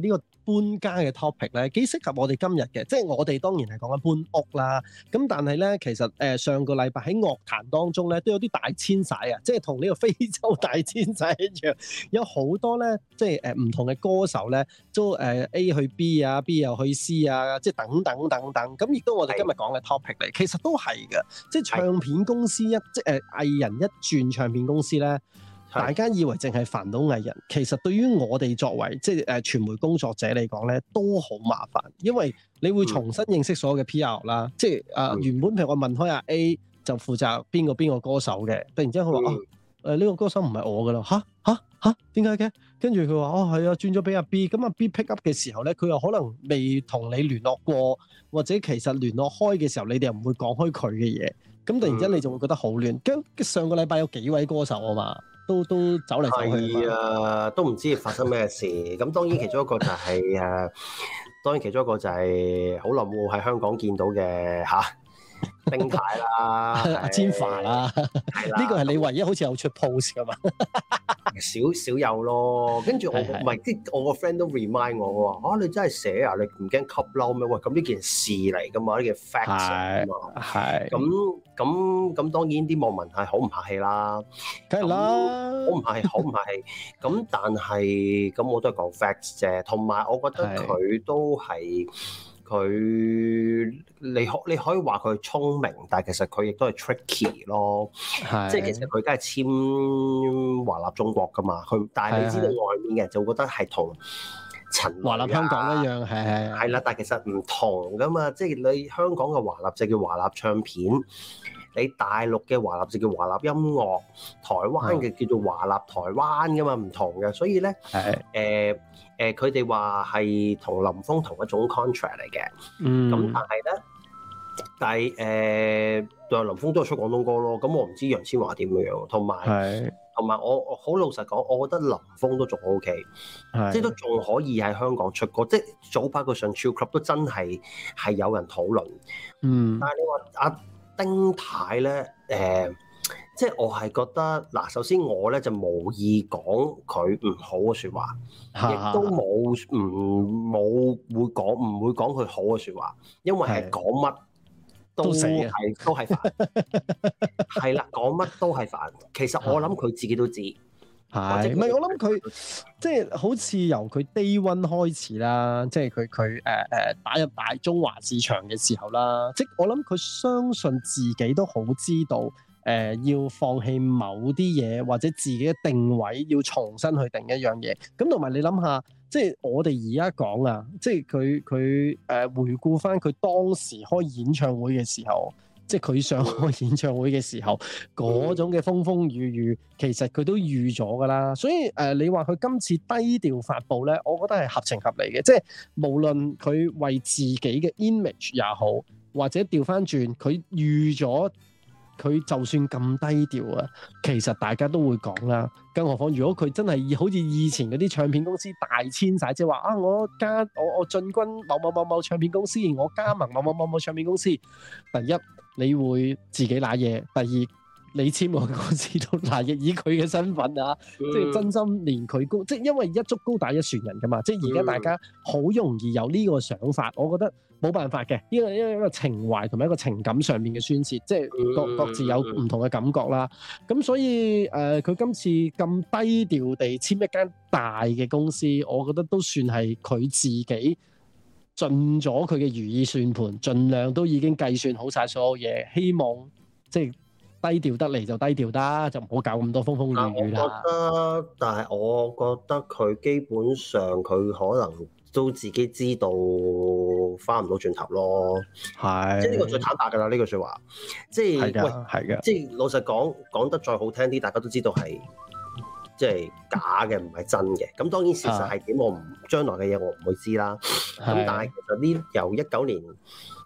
S3: 搬家嘅 topic 咧，幾適合我哋今日嘅。即係我哋當然係講緊搬屋啦。咁但係咧，其實誒、呃、上個禮拜喺樂壇當中咧，都有啲大遷徙啊，即係同呢個非洲大遷徙一樣，有好多咧，即係誒唔同嘅歌手咧，都誒、呃、A 去 B 啊，B 又去 C 啊，即係等等等等。咁亦都我哋今日講嘅 topic 嚟，其實都係嘅。即係唱片公司一即係誒藝人一轉唱片公司咧。大家以為淨係煩到藝人，其實對於我哋作為即係誒傳媒工作者嚟講咧，都好麻煩，因為你會重新認識所有嘅 P R 啦。嗯、即係誒、呃、原本譬如我問開阿 A 就負責邊個邊個歌手嘅，突然之間佢話、嗯、啊誒呢、呃呢個歌手唔係我噶啦，吓吓吓點解嘅？跟住佢話哦係啊，轉咗俾阿 B， 咁阿 B pick up 嘅時候咧，佢又可能未同你聯絡過，或者其實聯絡開嘅時候，你哋又唔會講開佢嘅嘢，咁突然之間你就會覺得好亂。跟、嗯、上個禮拜有幾位歌手啊嘛。都都走嚟走去
S4: 係啊，都唔知發生咩事。咁當然其中一個就係、是、誒，當然其中一個就係好耐冇喺香港見到嘅嚇。丁太啦，
S3: 阿千嬅啦，係啦，呢個係你唯一好似有出 post 噶嘛？
S4: 少少有咯，跟住我唔係即係我個 friend 都 remind 我話啊，你真係寫啊，你唔驚吸嬲咩？喂，咁呢件事嚟噶嘛，呢件 fact 啊嘛，係咁咁咁，當然啲網民係好唔客氣啦，
S3: 梗係啦，
S4: 好唔客氣，好唔客氣。咁但係咁我都係講 facts 啫，同埋我覺得佢都係。佢你可你可以話佢聰明，但係其實佢亦都係 tricky 咯，即係其實佢梗係簽華納中國噶嘛，佢但係你知道外面嘅人就會覺得係同陳
S3: 華納香港一樣，係係
S4: 係啦，但係其實唔同噶嘛，即係你香港嘅華納就叫華納唱片，你大陸嘅華納就叫華納音樂，台灣嘅叫做華納台灣噶嘛，唔同嘅，所以咧誒。呃誒佢哋話係同林峰同一種 contract 嚟嘅，嗯，咁但係咧，但係誒，對、呃、林峰都係出廣東歌咯，咁我唔知楊千嬅點樣樣，同埋同埋我我好老實講，我覺得林峰都仲 OK，即係都仲可以喺香港出歌，即係早排佢上超 club 都真係係有人討論，嗯，但係你話阿丁太咧，誒、呃。即係我係覺得嗱，首先我咧就無意講佢唔好嘅説話，亦都冇唔冇會講唔會講佢好嘅説話，因為係講乜都係都係煩，係啦，講乜都係煩。其實我諗佢自己都知，係
S3: 唔係？我諗佢即係好似由佢 day one 開始啦，即係佢佢誒誒打入大中華市場嘅時候啦，即係我諗佢相信自己都好知道。誒、呃、要放棄某啲嘢，或者自己嘅定位要重新去定一樣嘢。咁同埋你諗下，即係我哋而家講啊，即係佢佢誒回顧翻佢當時開演唱會嘅時候，即係佢想開演唱會嘅時候嗰種嘅風風雨雨，其實佢都預咗㗎啦。所以誒、呃，你話佢今次低調發布咧，我覺得係合情合理嘅。即係無論佢為自己嘅 image 也好，或者調翻轉佢預咗。佢就算咁低調啊，其實大家都會講啦。更何況如果佢真係好似以前嗰啲唱片公司大遷徙，即係話啊，我加我我進軍某某某某唱片公司，我加盟某某某某唱片公司。第一，你會自己揦嘢；第二，你簽個公司都揦嘢，以佢嘅身份啊，嗯、即係真心連佢高，即係因為一竹篙打一船人噶嘛。即係而家大家好容易有呢個想法，我覺得。冇辦法嘅，呢個因為一個情懷同埋一個情感上面嘅宣泄，即係各各自有唔同嘅感覺啦。咁所以誒，佢、呃、今次咁低調地簽一間大嘅公司，我覺得都算係佢自己盡咗佢嘅如意算盤，盡量都已經計算好晒所有嘢，希望即係低調得嚟就低調得，就唔好搞咁多風風雨雨啦。我覺
S4: 得，但係我覺得佢基本上佢可能。都自己知道翻唔到轉頭咯，係，即係呢個最坦白㗎啦，呢句説話，即係喂，係嘅，即係老實講，講得再好聽啲，大家都知道係即係假嘅，唔係真嘅。咁當然事實係點，我唔將來嘅嘢我唔會知啦。咁但係其實呢由一九年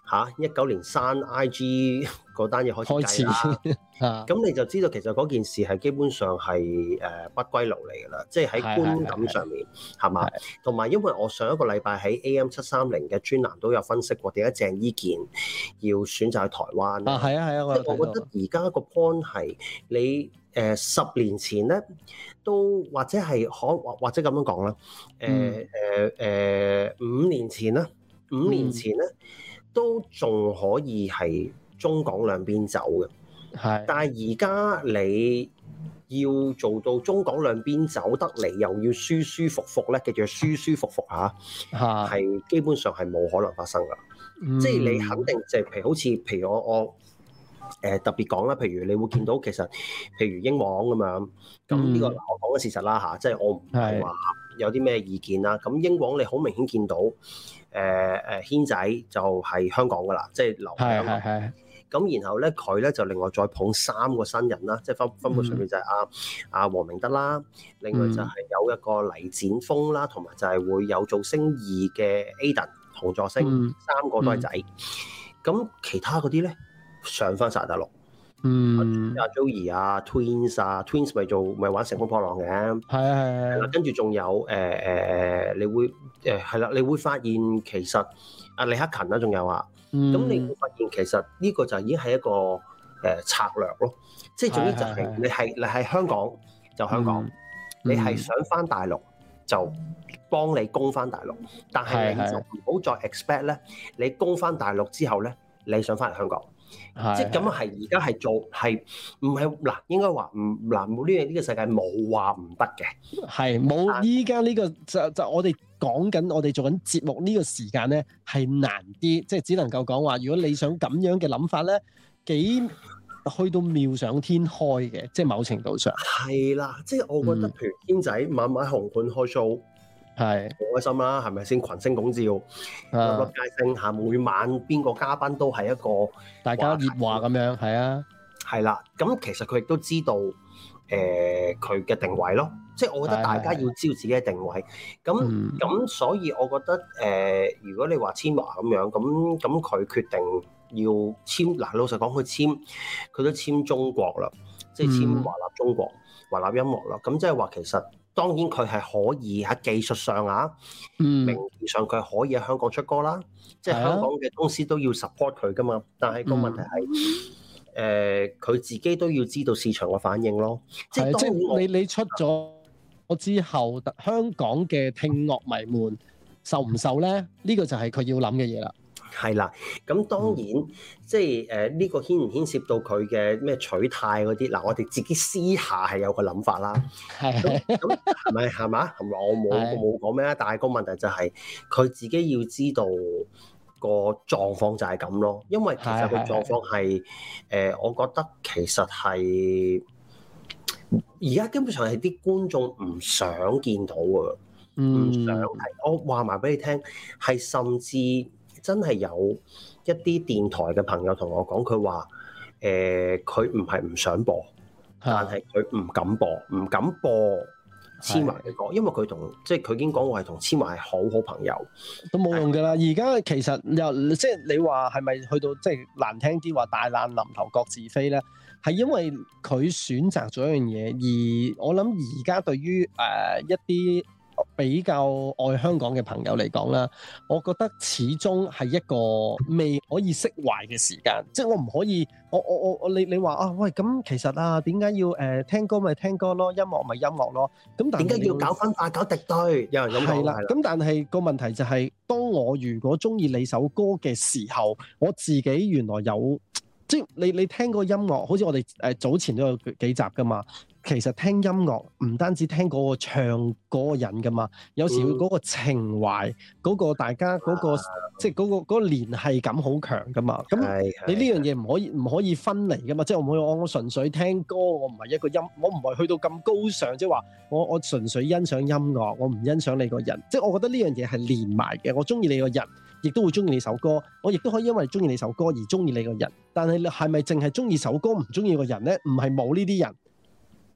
S4: 嚇一九年刪 I G 嗰單嘢開始計啦，咁你就知道其實嗰件事係基本上係誒、呃、不歸路嚟㗎啦，即係喺觀感上面係嘛？同埋因為我上一個禮拜喺 A M 七三零嘅專欄都有分析過點解鄭伊健要選擇去台灣
S3: 啊，係啊係啊，我
S4: 即係我覺得而家個 point 係你誒、呃、十年前咧都或者係可或或者咁樣講啦，誒誒誒五年前啦，五年前咧。嗯都仲可以係中港兩邊走嘅，係。但係而家你要做到中港兩邊走得嚟，又要舒舒服服咧，叫做舒舒服服嚇，係基本上係冇可能發生噶。嗯、即係你肯定即係譬如好似譬如我我誒、呃、特別講啦，譬如你會見到其實譬如英皇咁樣，咁呢個我講嘅事實啦嚇，即係我唔係話有啲咩意見啦。咁英皇你好明顯見到。誒誒軒仔就係香港噶啦，即係留喺香港。咁然後咧，佢咧就另外再捧三個新人啦，即係分分佈上面就係阿阿黃明德啦，另外就係有一個黎展峰啦，同埋就係會有造星二嘅 Aden 同座星，嗯、三個都係仔。咁、嗯、其他嗰啲咧上翻晒大陸。嗯，阿 Joey 啊 ，Twins 啊 ，Twins 咪做咪玩乘風破浪嘅，係啊係啊，跟住仲有誒誒誒，你會誒係啦，你會發現其實阿李克勤啦，仲有啊，咁、嗯、你會發現其實呢個就已經係一個誒、呃、策略咯，即係總之就係你係你係香港就香港，嗯、你係想翻大陸就幫你攻翻大陸，但係你就唔好再 expect 咧，你攻翻大陸之後咧，你想翻嚟香港。即係咁樣係而家係做係唔係嗱？應該話唔嗱冇呢樣呢個世界冇話唔得嘅，係冇依家呢個就就我哋講緊我哋做緊節目呢個時間咧係難啲，即係只能夠講話如果你想咁樣嘅諗法咧，幾去到妙想天開嘅，即係某程度上係啦。即係我覺得譬如軒仔晚晚紅館開 show。係好開心啦，係咪先？群星拱照，粒粒皆星嚇，每晚邊個嘉賓都係一個大家熱話咁樣，係啊，係啦。咁其實佢亦都知道誒佢嘅定位咯，即係我覺得大家要知道自己嘅定位。咁咁、嗯、所以我覺得誒、呃，如果你話千嬅咁樣，咁咁佢決定要簽嗱，老實講佢簽佢都簽中國啦，即係簽華納中國、華納音樂啦。咁即係話其實。當然佢係可以喺技術上啊，嗯、名義上佢可以喺香港出歌啦，即係香港嘅公司都要 support 佢噶嘛。但係個問題係，誒、嗯，佢、呃、自己都要知道市場嘅反應咯。即係即係你你出咗我之後，香港嘅聽樂迷們受唔受咧？呢、呢個就係佢要諗嘅嘢啦。係啦，咁當然、嗯、即係誒呢個牽唔牽涉到佢嘅咩取態嗰啲嗱，我哋自己私下係有個諗法啦。係咁係咪係嘛？我冇冇講咩啊？但係個問題就係、是、佢自己要知道個狀況就係咁咯。因為其實個狀況係誒、呃，我覺得其實係而家基本上係啲觀眾唔想見到啊，唔想睇。我話埋俾你聽，係甚至。真係有一啲電台嘅朋友同我講，佢話誒佢唔係唔想播，但係佢唔敢播，唔敢播千嬅嘅歌，因為佢同即係佢已經講過係同千嬅係好好朋友，都冇用㗎啦。而家其實又即係你話係咪去到即係難聽啲話大難臨頭各自飛咧？係因為佢選擇咗一樣嘢，而我諗而家對於誒、呃、一啲比較愛香港嘅朋友嚟講啦，我覺得始終係一個未可以釋懷嘅時間，即係我唔可以，我我我我你你話啊，喂咁其實啊，點解要誒、呃、聽歌咪聽歌咯，音樂咪音樂咯，咁點解要搞分化搞敵對？有人咁講係啦，咁但係個問題就係、是，當我如果中意你首歌嘅時候，我自己原來有即係你你聽個音樂，好似我哋誒早前都有幾集噶嘛。其實聽音樂唔單止聽嗰個唱嗰個人噶嘛，有時嗰個情懷，嗰、嗯、個大家嗰、嗰個、啊、即係、嗰、嗰個嗰、嗰個聯繫感好強噶嘛。咁你呢樣嘢唔可以唔可以分離噶嘛？即係我唔可以我我純粹聽歌，我唔係一個音，我唔係去到咁高尚，即係話我我純粹欣賞音樂，我唔欣賞你個人。即係我覺得呢樣嘢係連埋嘅。我中意你個人，亦都會中意你首歌，我亦都可以因為中意你首歌而中意你個人。但係係咪淨係中意首歌唔中意個人咧？唔係冇呢啲人。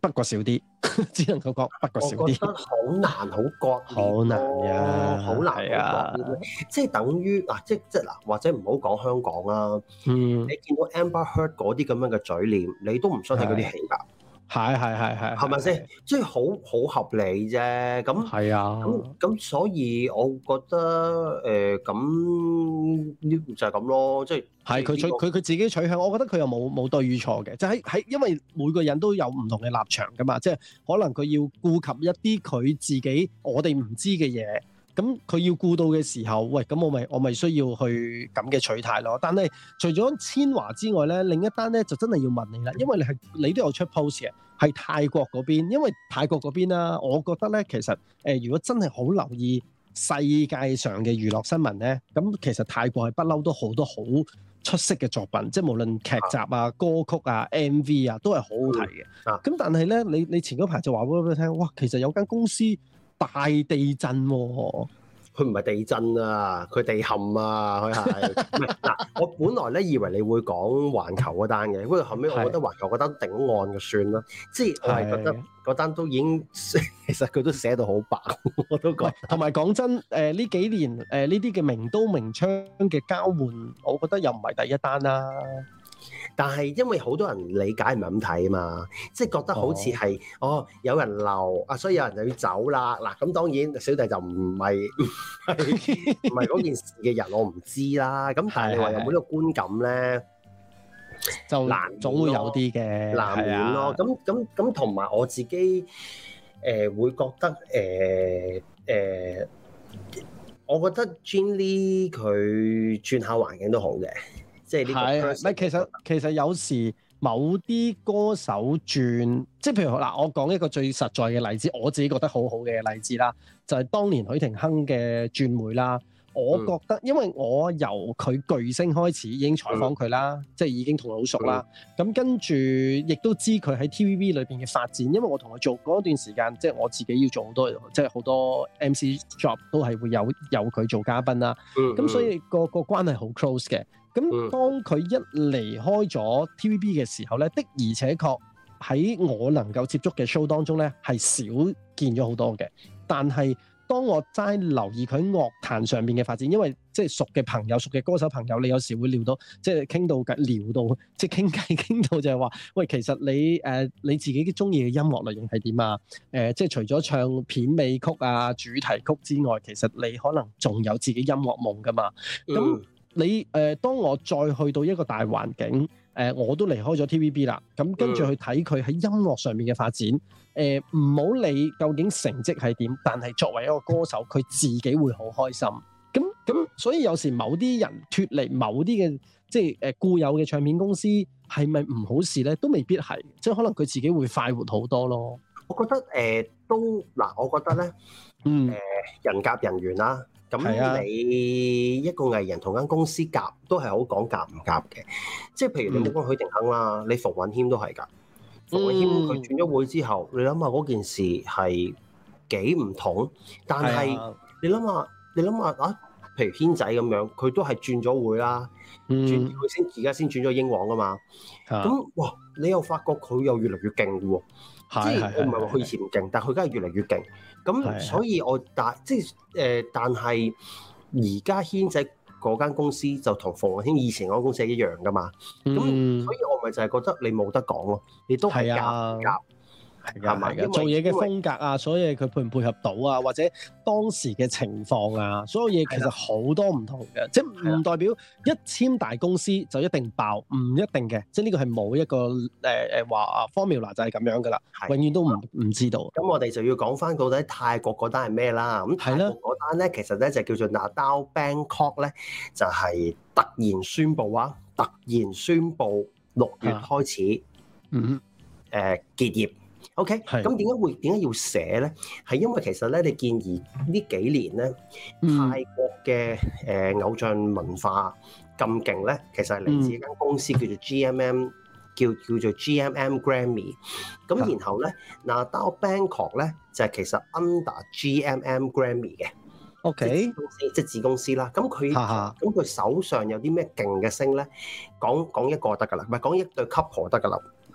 S3: 不過少啲，只能夠講不過少啲。
S4: 我覺得好難，好割裂，
S3: 好難呀，
S4: 好難，係啊，即係等於嗱，即即嗱，或者唔好講香港啦。嗯，你見到 Amber Heard 嗰啲咁樣嘅嘴臉，你都唔相信嗰啲戲㗎。係
S3: 係係係，
S4: 係咪先？即係好好合理啫。咁
S3: 係啊。
S4: 咁咁，所以我覺得誒咁呢就係咁咯。即係係
S3: 佢取佢佢自己取向，我覺得佢又冇冇對與錯嘅。就喺喺，因為每個人都有唔同嘅立場㗎嘛。即係可能佢要顧及一啲佢自己我哋唔知嘅嘢。咁佢要顧到嘅時候，喂，咁我咪我咪需要去咁嘅取態咯。但係除咗千華之外咧，另一單咧就真係要問你啦，因為你係你都有出 post 嘅，係泰國嗰邊。因為泰國嗰邊啦，我覺得咧其實誒、呃，如果真係好留意世界上嘅娛樂新聞咧，咁其實泰國係不嬲都好多好出色嘅作品，即係無論劇集啊、歌曲啊、M V 啊，都係好好睇嘅。咁、嗯、但係咧，你你前嗰排就話俾我聽，哇，其實有間公司大地震喎、啊，
S4: 佢唔係地震啊，佢地陷啊，佢係嗱。我本來咧以為你會講環球嗰單嘅，不過後尾我覺得環球嗰單頂案就算啦。即係我係覺得嗰單都已經其實佢都寫到好白，我都覺得。同埋講真，誒、呃、呢幾年誒呢啲嘅名刀名槍嘅交換，我覺得又唔係第一單啦。 但係因為好多人理解唔係咁睇啊嘛，即係覺得好似係哦，哦有人留啊，所以有人就要走啦。嗱，咁當然小弟就唔係唔係嗰件事嘅人，我唔知啦。咁但係你話有冇呢個觀感咧？就難總會有啲嘅難免咯。咁咁咁同埋我自己誒、呃、會覺得誒誒、呃呃，我覺得 Gin Lee 佢轉下環境都好嘅。即係呢個，唔係其實
S3: 其實有時某啲歌手轉，即係譬如嗱，我講一個最實在嘅例子，我自己覺得好好嘅例子啦，就係、是、當年許廷鏗嘅轉會啦。我覺得，因為我由佢巨星開始已經採訪佢啦，嗯、即係已經同佢好熟啦。咁、嗯、跟住亦都知佢喺 T V B 裏邊嘅發展，因為我同佢做嗰段時間，即係我自己要做好多，即係好多 M C job 都係會有有佢做嘉賓啦。咁、嗯、所以個個關係好 close 嘅。咁當佢一離開咗 T V B 嘅時候咧，的而且確喺我能夠接觸嘅 show 當中咧，係少見咗好多嘅。但係當我齋留意佢樂壇上面嘅發展，因為即係熟嘅朋友、熟嘅歌手朋友，你有時會聊到，即係傾到偈，聊到即係傾偈傾到就係話，喂，其實你誒、呃、你自己中意嘅音樂類型係點啊？誒、呃，即係除咗唱片尾曲啊、主題曲之外，其實你可能仲有自己音樂夢噶嘛？咁、嗯你誒、呃，當我再去到一個大環境，誒、呃，我都離開咗 T V B 啦。咁跟住去睇佢喺音樂上面嘅發展，誒、呃，唔好理究竟成績係點，但係作為一個歌手，佢自己會好開心。咁咁，所以有時某啲人脫離某啲嘅即係誒固有嘅唱片公司，係咪唔好事咧？都未必係，即係可能佢自己會快活好多咯。我覺得誒、呃、都嗱，我覺得咧，嗯，誒、呃、人夾人緣啦。咁你一個藝人同間公司夾都係好講夾唔夾嘅，即係譬如你冇講許廷鏗啦，嗯、你馮允謙都係㗎。馮允謙佢轉咗會之後，你諗下嗰件事係幾唔同，但係、啊、你諗下，你諗下啊，譬如軒仔咁樣，佢都係轉咗會啦，嗯、轉佢先而家先轉咗英皇㗎嘛。咁、啊、哇，你又發覺佢又越嚟越勁喎。即係我唔係話佢以前唔勁，但係佢而家係越嚟越勁。咁所以我但即係誒、呃，但係而家軒仔嗰間公司就同馮允謙以前嗰間公司係一樣噶嘛。咁、嗯、所以我咪就係覺得你冇得講咯，你都係夾夾。係㗎，係㗎，做嘢嘅風格啊，所有嘢佢配唔配合到啊，或者當時嘅情況啊，所有嘢其實好多唔同嘅，即係唔代表一簽大公司就一定爆，唔一定嘅，即係呢個係冇一個誒誒話 formula 就係咁樣噶啦，永遠都唔唔知道。咁我哋就要講翻到底泰國嗰單係咩啦？咁泰國嗰單咧，其實咧就叫做 Nadao Bangkok 咧，就係、是、突然宣布啊，突然宣布六月開始，嗯，誒、呃、結業。OK，咁點解會點解要寫咧？係因為其實咧，你建議呢幾年咧，泰國嘅誒、呃、偶像文化咁勁咧，其實係嚟自一間公司叫做 G M M， 叫叫做 G M M Grammy。咁然後咧，Nadao Bangkok 咧就係、是、其實 under G M M Grammy 嘅。OK，公司即係子公司啦。咁佢咁佢手上有啲咩勁嘅星咧？講講一個得㗎啦，唔係講一對 couple 得㗎啦。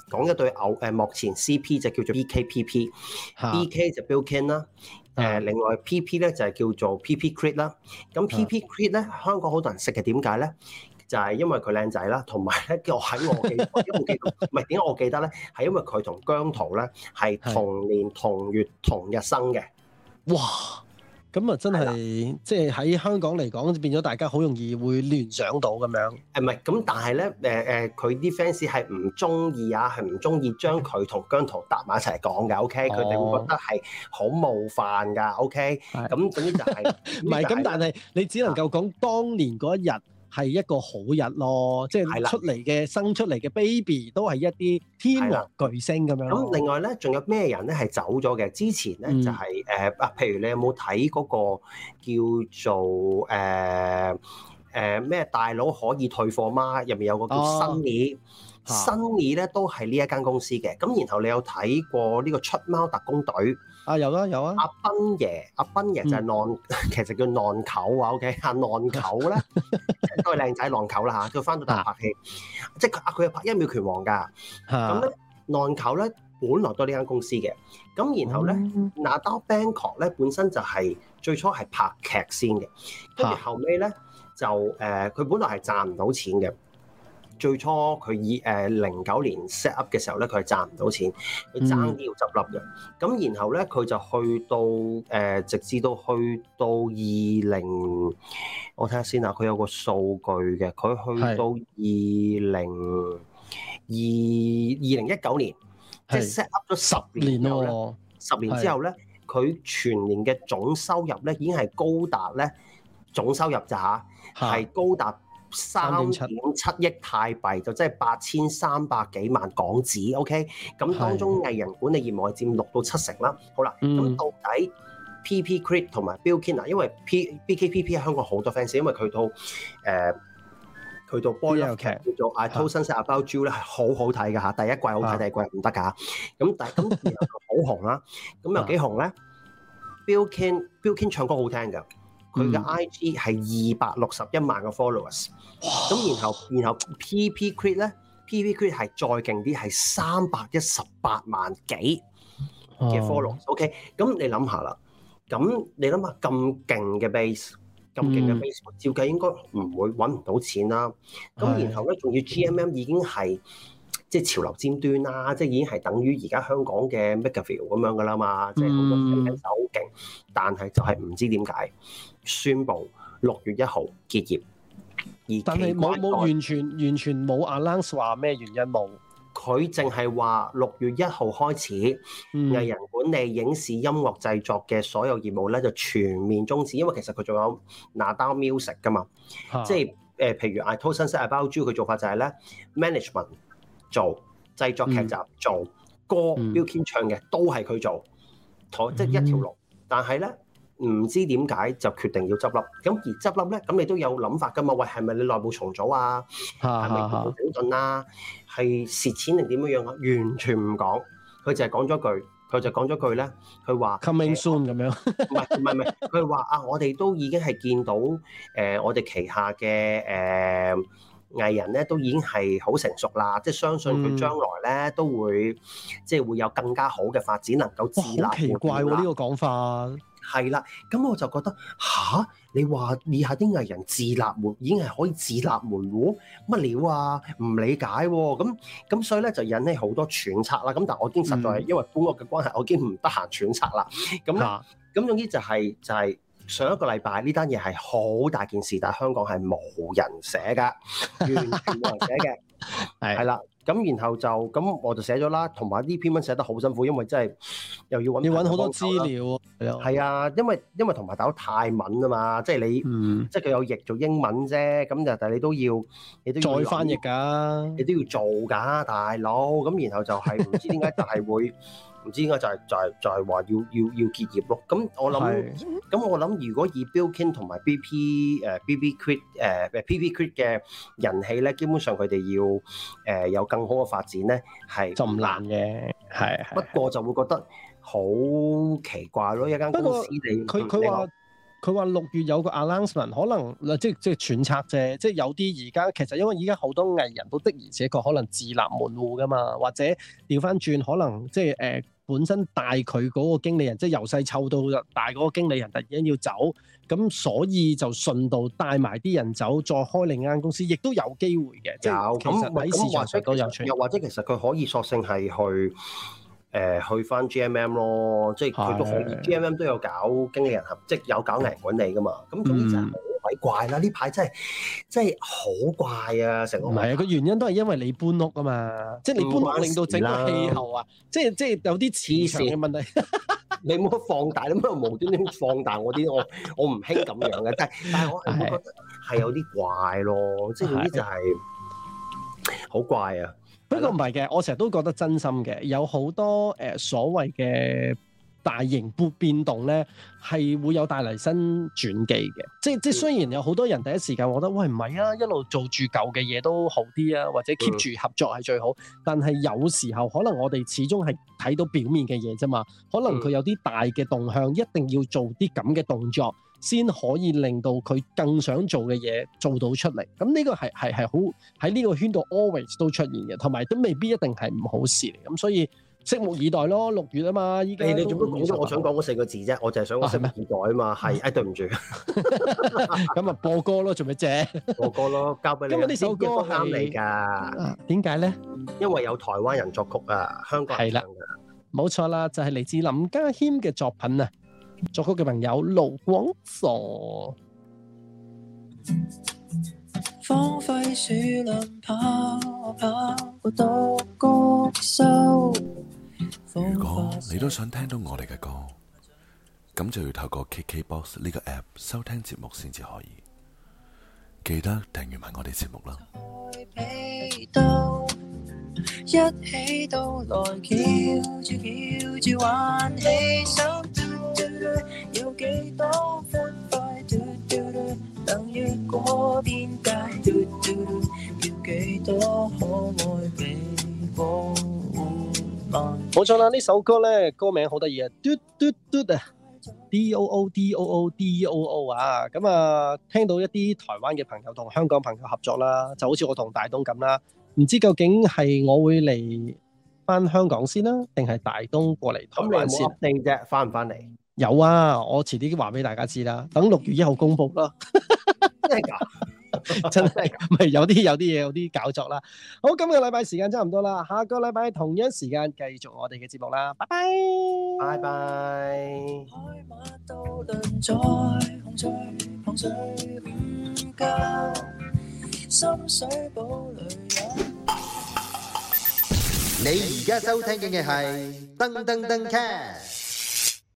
S4: 講一對偶誒幕前 C P 就叫做 B K P P，B K 就 Bilkin 啦。誒，另外 P P 咧就係叫做 P P Creed 啦。咁 P P Creed 咧，香港好多人識嘅，點解咧？就係因為佢靚仔啦，同埋咧，我喺我記，點解我記得？唔係點解我記得咧？係因為佢同姜濤咧係同年同月同日生嘅。
S3: 哇！咁啊，真係即係喺香港嚟講，變咗大家好容易會聯想到咁樣。
S4: 誒唔係，咁但係咧，誒、呃、誒，佢啲 fans 係唔中意啊，係唔中意將佢同姜濤搭埋一齊講嘅。OK，佢哋、哦、會覺得係好冒犯㗎。OK，咁總之就係唔係咁，
S3: 但係你只能夠講當年嗰一日係一個好日咯，即係出嚟嘅生出嚟嘅 baby 都係一啲天王巨星咁樣。咁
S4: 另外咧，仲有咩人咧係走咗嘅？之前咧、嗯、就係誒啊，譬如你有冇睇嗰個叫做誒誒咩大佬可以退貨嗎？入面有個叫 Sunny，Sunny 咧都係呢一間公司嘅。咁然後你有睇過呢個出貓特工隊？
S3: 啊有啊有啊！
S4: 阿斌爺，阿斌爺就係浪，嗯、其實叫浪球啊。OK， 阿浪球咧都係靚仔浪球啦嚇。佢翻到大陸拍戲，啊、即係佢啊，佢係拍一秒拳王㗎。咁咧浪球咧本來都係呢間公司嘅。咁然後咧 Nada Bangkok 咧本身就係、是、最初係拍劇先嘅，跟住後尾咧就誒佢、呃、本來係賺唔到錢嘅。最初佢以誒零九年 set up 嘅時候咧，佢係賺唔到錢，佢爭啲要執笠嘅。咁、嗯、然後咧，佢就去到誒、呃，直至到去到二零，我睇下先啊，佢有個數據嘅，佢去到二零二二零一九年，即係 set up 咗十年之後咧，十年之後咧，佢全年嘅總收入咧已經係高達咧總收入咋嚇，係高達三點七億泰幣，就即係八千三百幾萬港紙。OK， 咁當中藝人管理業務係佔六到七成啦。好啦，咁、嗯、到底 P P Creed 同埋 Bilkin 啊，因為 P B K P P 喺香港好多 fans，因為佢套誒佢套 Boy Love 劇叫做 I Told Sunset About You 咧係好好睇㗎嚇，第一季好睇，第二季唔得㗎。咁但係咁然後好紅啦，咁有幾紅咧 ？Bilkin Bilkin 唱歌好聽㗎。佢嘅 I G 係二百六十一萬個 followers，咁然後然後 P P Creed 咧 ，P P Creed 係再勁啲，係三百一十八萬幾嘅 followers。OK，咁你諗下啦，咁你諗下咁勁嘅 base， 咁勁嘅 base，、嗯、照計應該唔會揾唔到錢啦。咁然後咧，仲要 G M M 已經係即係潮流尖端啦，即係已經係等於而家香港嘅 MakerVille 咁樣噶啦嘛，即係好多 fans 好勁，但係就係唔知點解。宣布六月一號結業，而
S3: 但係冇冇完全完全冇 announce 話咩原因冇，
S4: 佢淨係話六月一號開始，嗯、藝人管理、影視、音樂製作嘅所有業務咧就全面終止，因為其實佢仲有 Nada Music 噶嘛，啊、即係誒、呃、譬如 I Told Sunset About You 佢做法就係咧 management 做製作劇集、嗯、做歌 Bilkin、嗯、唱嘅都係佢做，即係一條龍，嗯、但係咧。唔知點解就決定要執笠，咁而執笠咧，咁你都有諗法噶嘛？喂，係咪你內部重組啊？係咪內部整頓啊？係蝕錢定點樣樣啊？完全唔講，佢就係講咗句，佢就講咗句咧，佢話
S3: coming soon 咁樣，
S4: 唔係唔係唔係，佢話啊，我哋都已經係見到誒、呃，我哋旗下嘅誒、呃、藝人咧，都已經係好成熟啦，即係相信佢將來咧、嗯、都會即係會有更加好嘅發展，能夠自立。好奇怪喎、啊，呢、呢個講法。係啦，咁我就覺得吓，你話以下啲藝人自立門已經係可以自立門戶，乜料啊？唔理解喎、啊，咁咁所以咧就引起好多揣測啦。咁但係我已經實在係、嗯、因為搬屋嘅關係，我已經唔得閒揣測啦。咁咧，咁、啊、總之就係、是、就係、是、上一個禮拜呢單嘢係好大件事，但係香港係冇人寫㗎，完全冇人寫嘅，係係啦。咁然後就咁我就寫咗啦，同埋呢篇文寫得好辛苦，因為真係又要揾
S3: 要揾好多資料，
S4: 係啊，因為因為同埋大佬泰文啊嘛，即係你，嗯、即係佢有譯做英文啫，咁就但係你都要，你都要
S3: 再翻譯㗎，
S4: 你都要做㗎，大佬。咁然後就係唔知點解就係會。唔知點解就係、是、就係、是、就係、是、話要要要結業咯。咁我諗，咁我諗如果以 Bilkin 同埋 B P 誒 B B Creed 誒 P P Creed 嘅人氣咧，基本上佢哋要誒、呃、有更好嘅發展咧，係
S3: 就唔難嘅。係
S4: 不過就會覺得好奇怪咯，一間公司你
S3: 佢佢話佢話六月有個 announcement，可能即即揣測啫，即係有啲而家其實因為而家好多藝人都的而且確可能自立門戶噶嘛，或者調翻轉可能即係誒、呃、本身帶佢嗰個經理人，即係由細湊到大嗰個經理人突然間要走，咁所以就順道帶埋啲人走，再開另一間公司，亦都有機會嘅。即係其實喺市場上都有出現。
S4: 又或者其實佢可以索性係去。誒、呃、去翻 G M M 咯，即係佢都可以 G M M 都有搞經理人合，即係有搞藝人管理噶嘛。咁總之就係好鬼怪啦！呢排真係真係好怪啊！成個唔係啊，個原因都係因為你搬屋啊嘛，即係你搬屋令到整個氣候啊，即係即係有啲磁場嘅問題。你唔好放大，你唔好無端端放大我啲，我我唔興咁樣嘅。但係但係我我覺得係有啲怪咯，即係總之就係好怪啊！不過
S3: 唔係嘅，我成日都覺得真心嘅，有好多誒、呃、所謂嘅大型變變動咧，係會有帶嚟新轉機嘅。即即雖然有好多人第一時間覺得喂唔係啊，一路做住舊嘅嘢都好啲啊，或者 keep 住合作係最好。但係有時候可能我哋始終係睇到表面嘅嘢啫嘛，可能佢有啲大嘅動向，一定要做啲咁嘅動作，先可以令到佢更想做嘅嘢做到出嚟。咁呢個係係係好喺呢個圈度 always 都出現嘅，同埋都未必一定係唔好事嚟。咁所以拭目以待咯，六月啊嘛，依家你做乜講咗我想講嗰四個字啫？我就係想我拭目以待啊嘛。係，誒對唔住。咁啊播歌咯，做咩啫？播歌咯，交俾你。因為呢首歌啱你㗎。點解咧？因為有台灣人作曲啊，香港人唱㗎。冇錯啦，就係嚟自林家謙嘅作品啊。作曲嘅朋友盧廣傻，荒廢樹林跑跑過獨角獸。
S5: 如果你都想聽到我哋嘅歌，咁就要透過 K K B O X 呢個 app 收聽節目先至可以。記得訂閱埋我哋節目啦。一起到來翹住翹住玩起手，有幾多歡快，能越過邊界，要幾多可愛被保護。冇錯啦，呢首歌咧歌名好得意啊，嘟嘟嘟啊 ，D O O D O O D O O 啊，咁啊聽到一啲台灣嘅朋友同香港朋友合作啦，就好似我同大東咁啦。唔知究竟係我會嚟翻香港先啦，定係大東過嚟台灣先？咁你有冇 update啫？翻唔翻嚟？有啊，我遲啲話俾大家知啦。等六月一號公佈啦。真係㗎？真係唔係有啲有啲嘢有啲搞作啦。好，今個禮拜時間差唔多啦，下個禮拜同樣時間繼續我哋嘅節目啦。拜拜，拜拜。深水埗裏
S1: 你而家收聽嘅係噔噔噔 cast。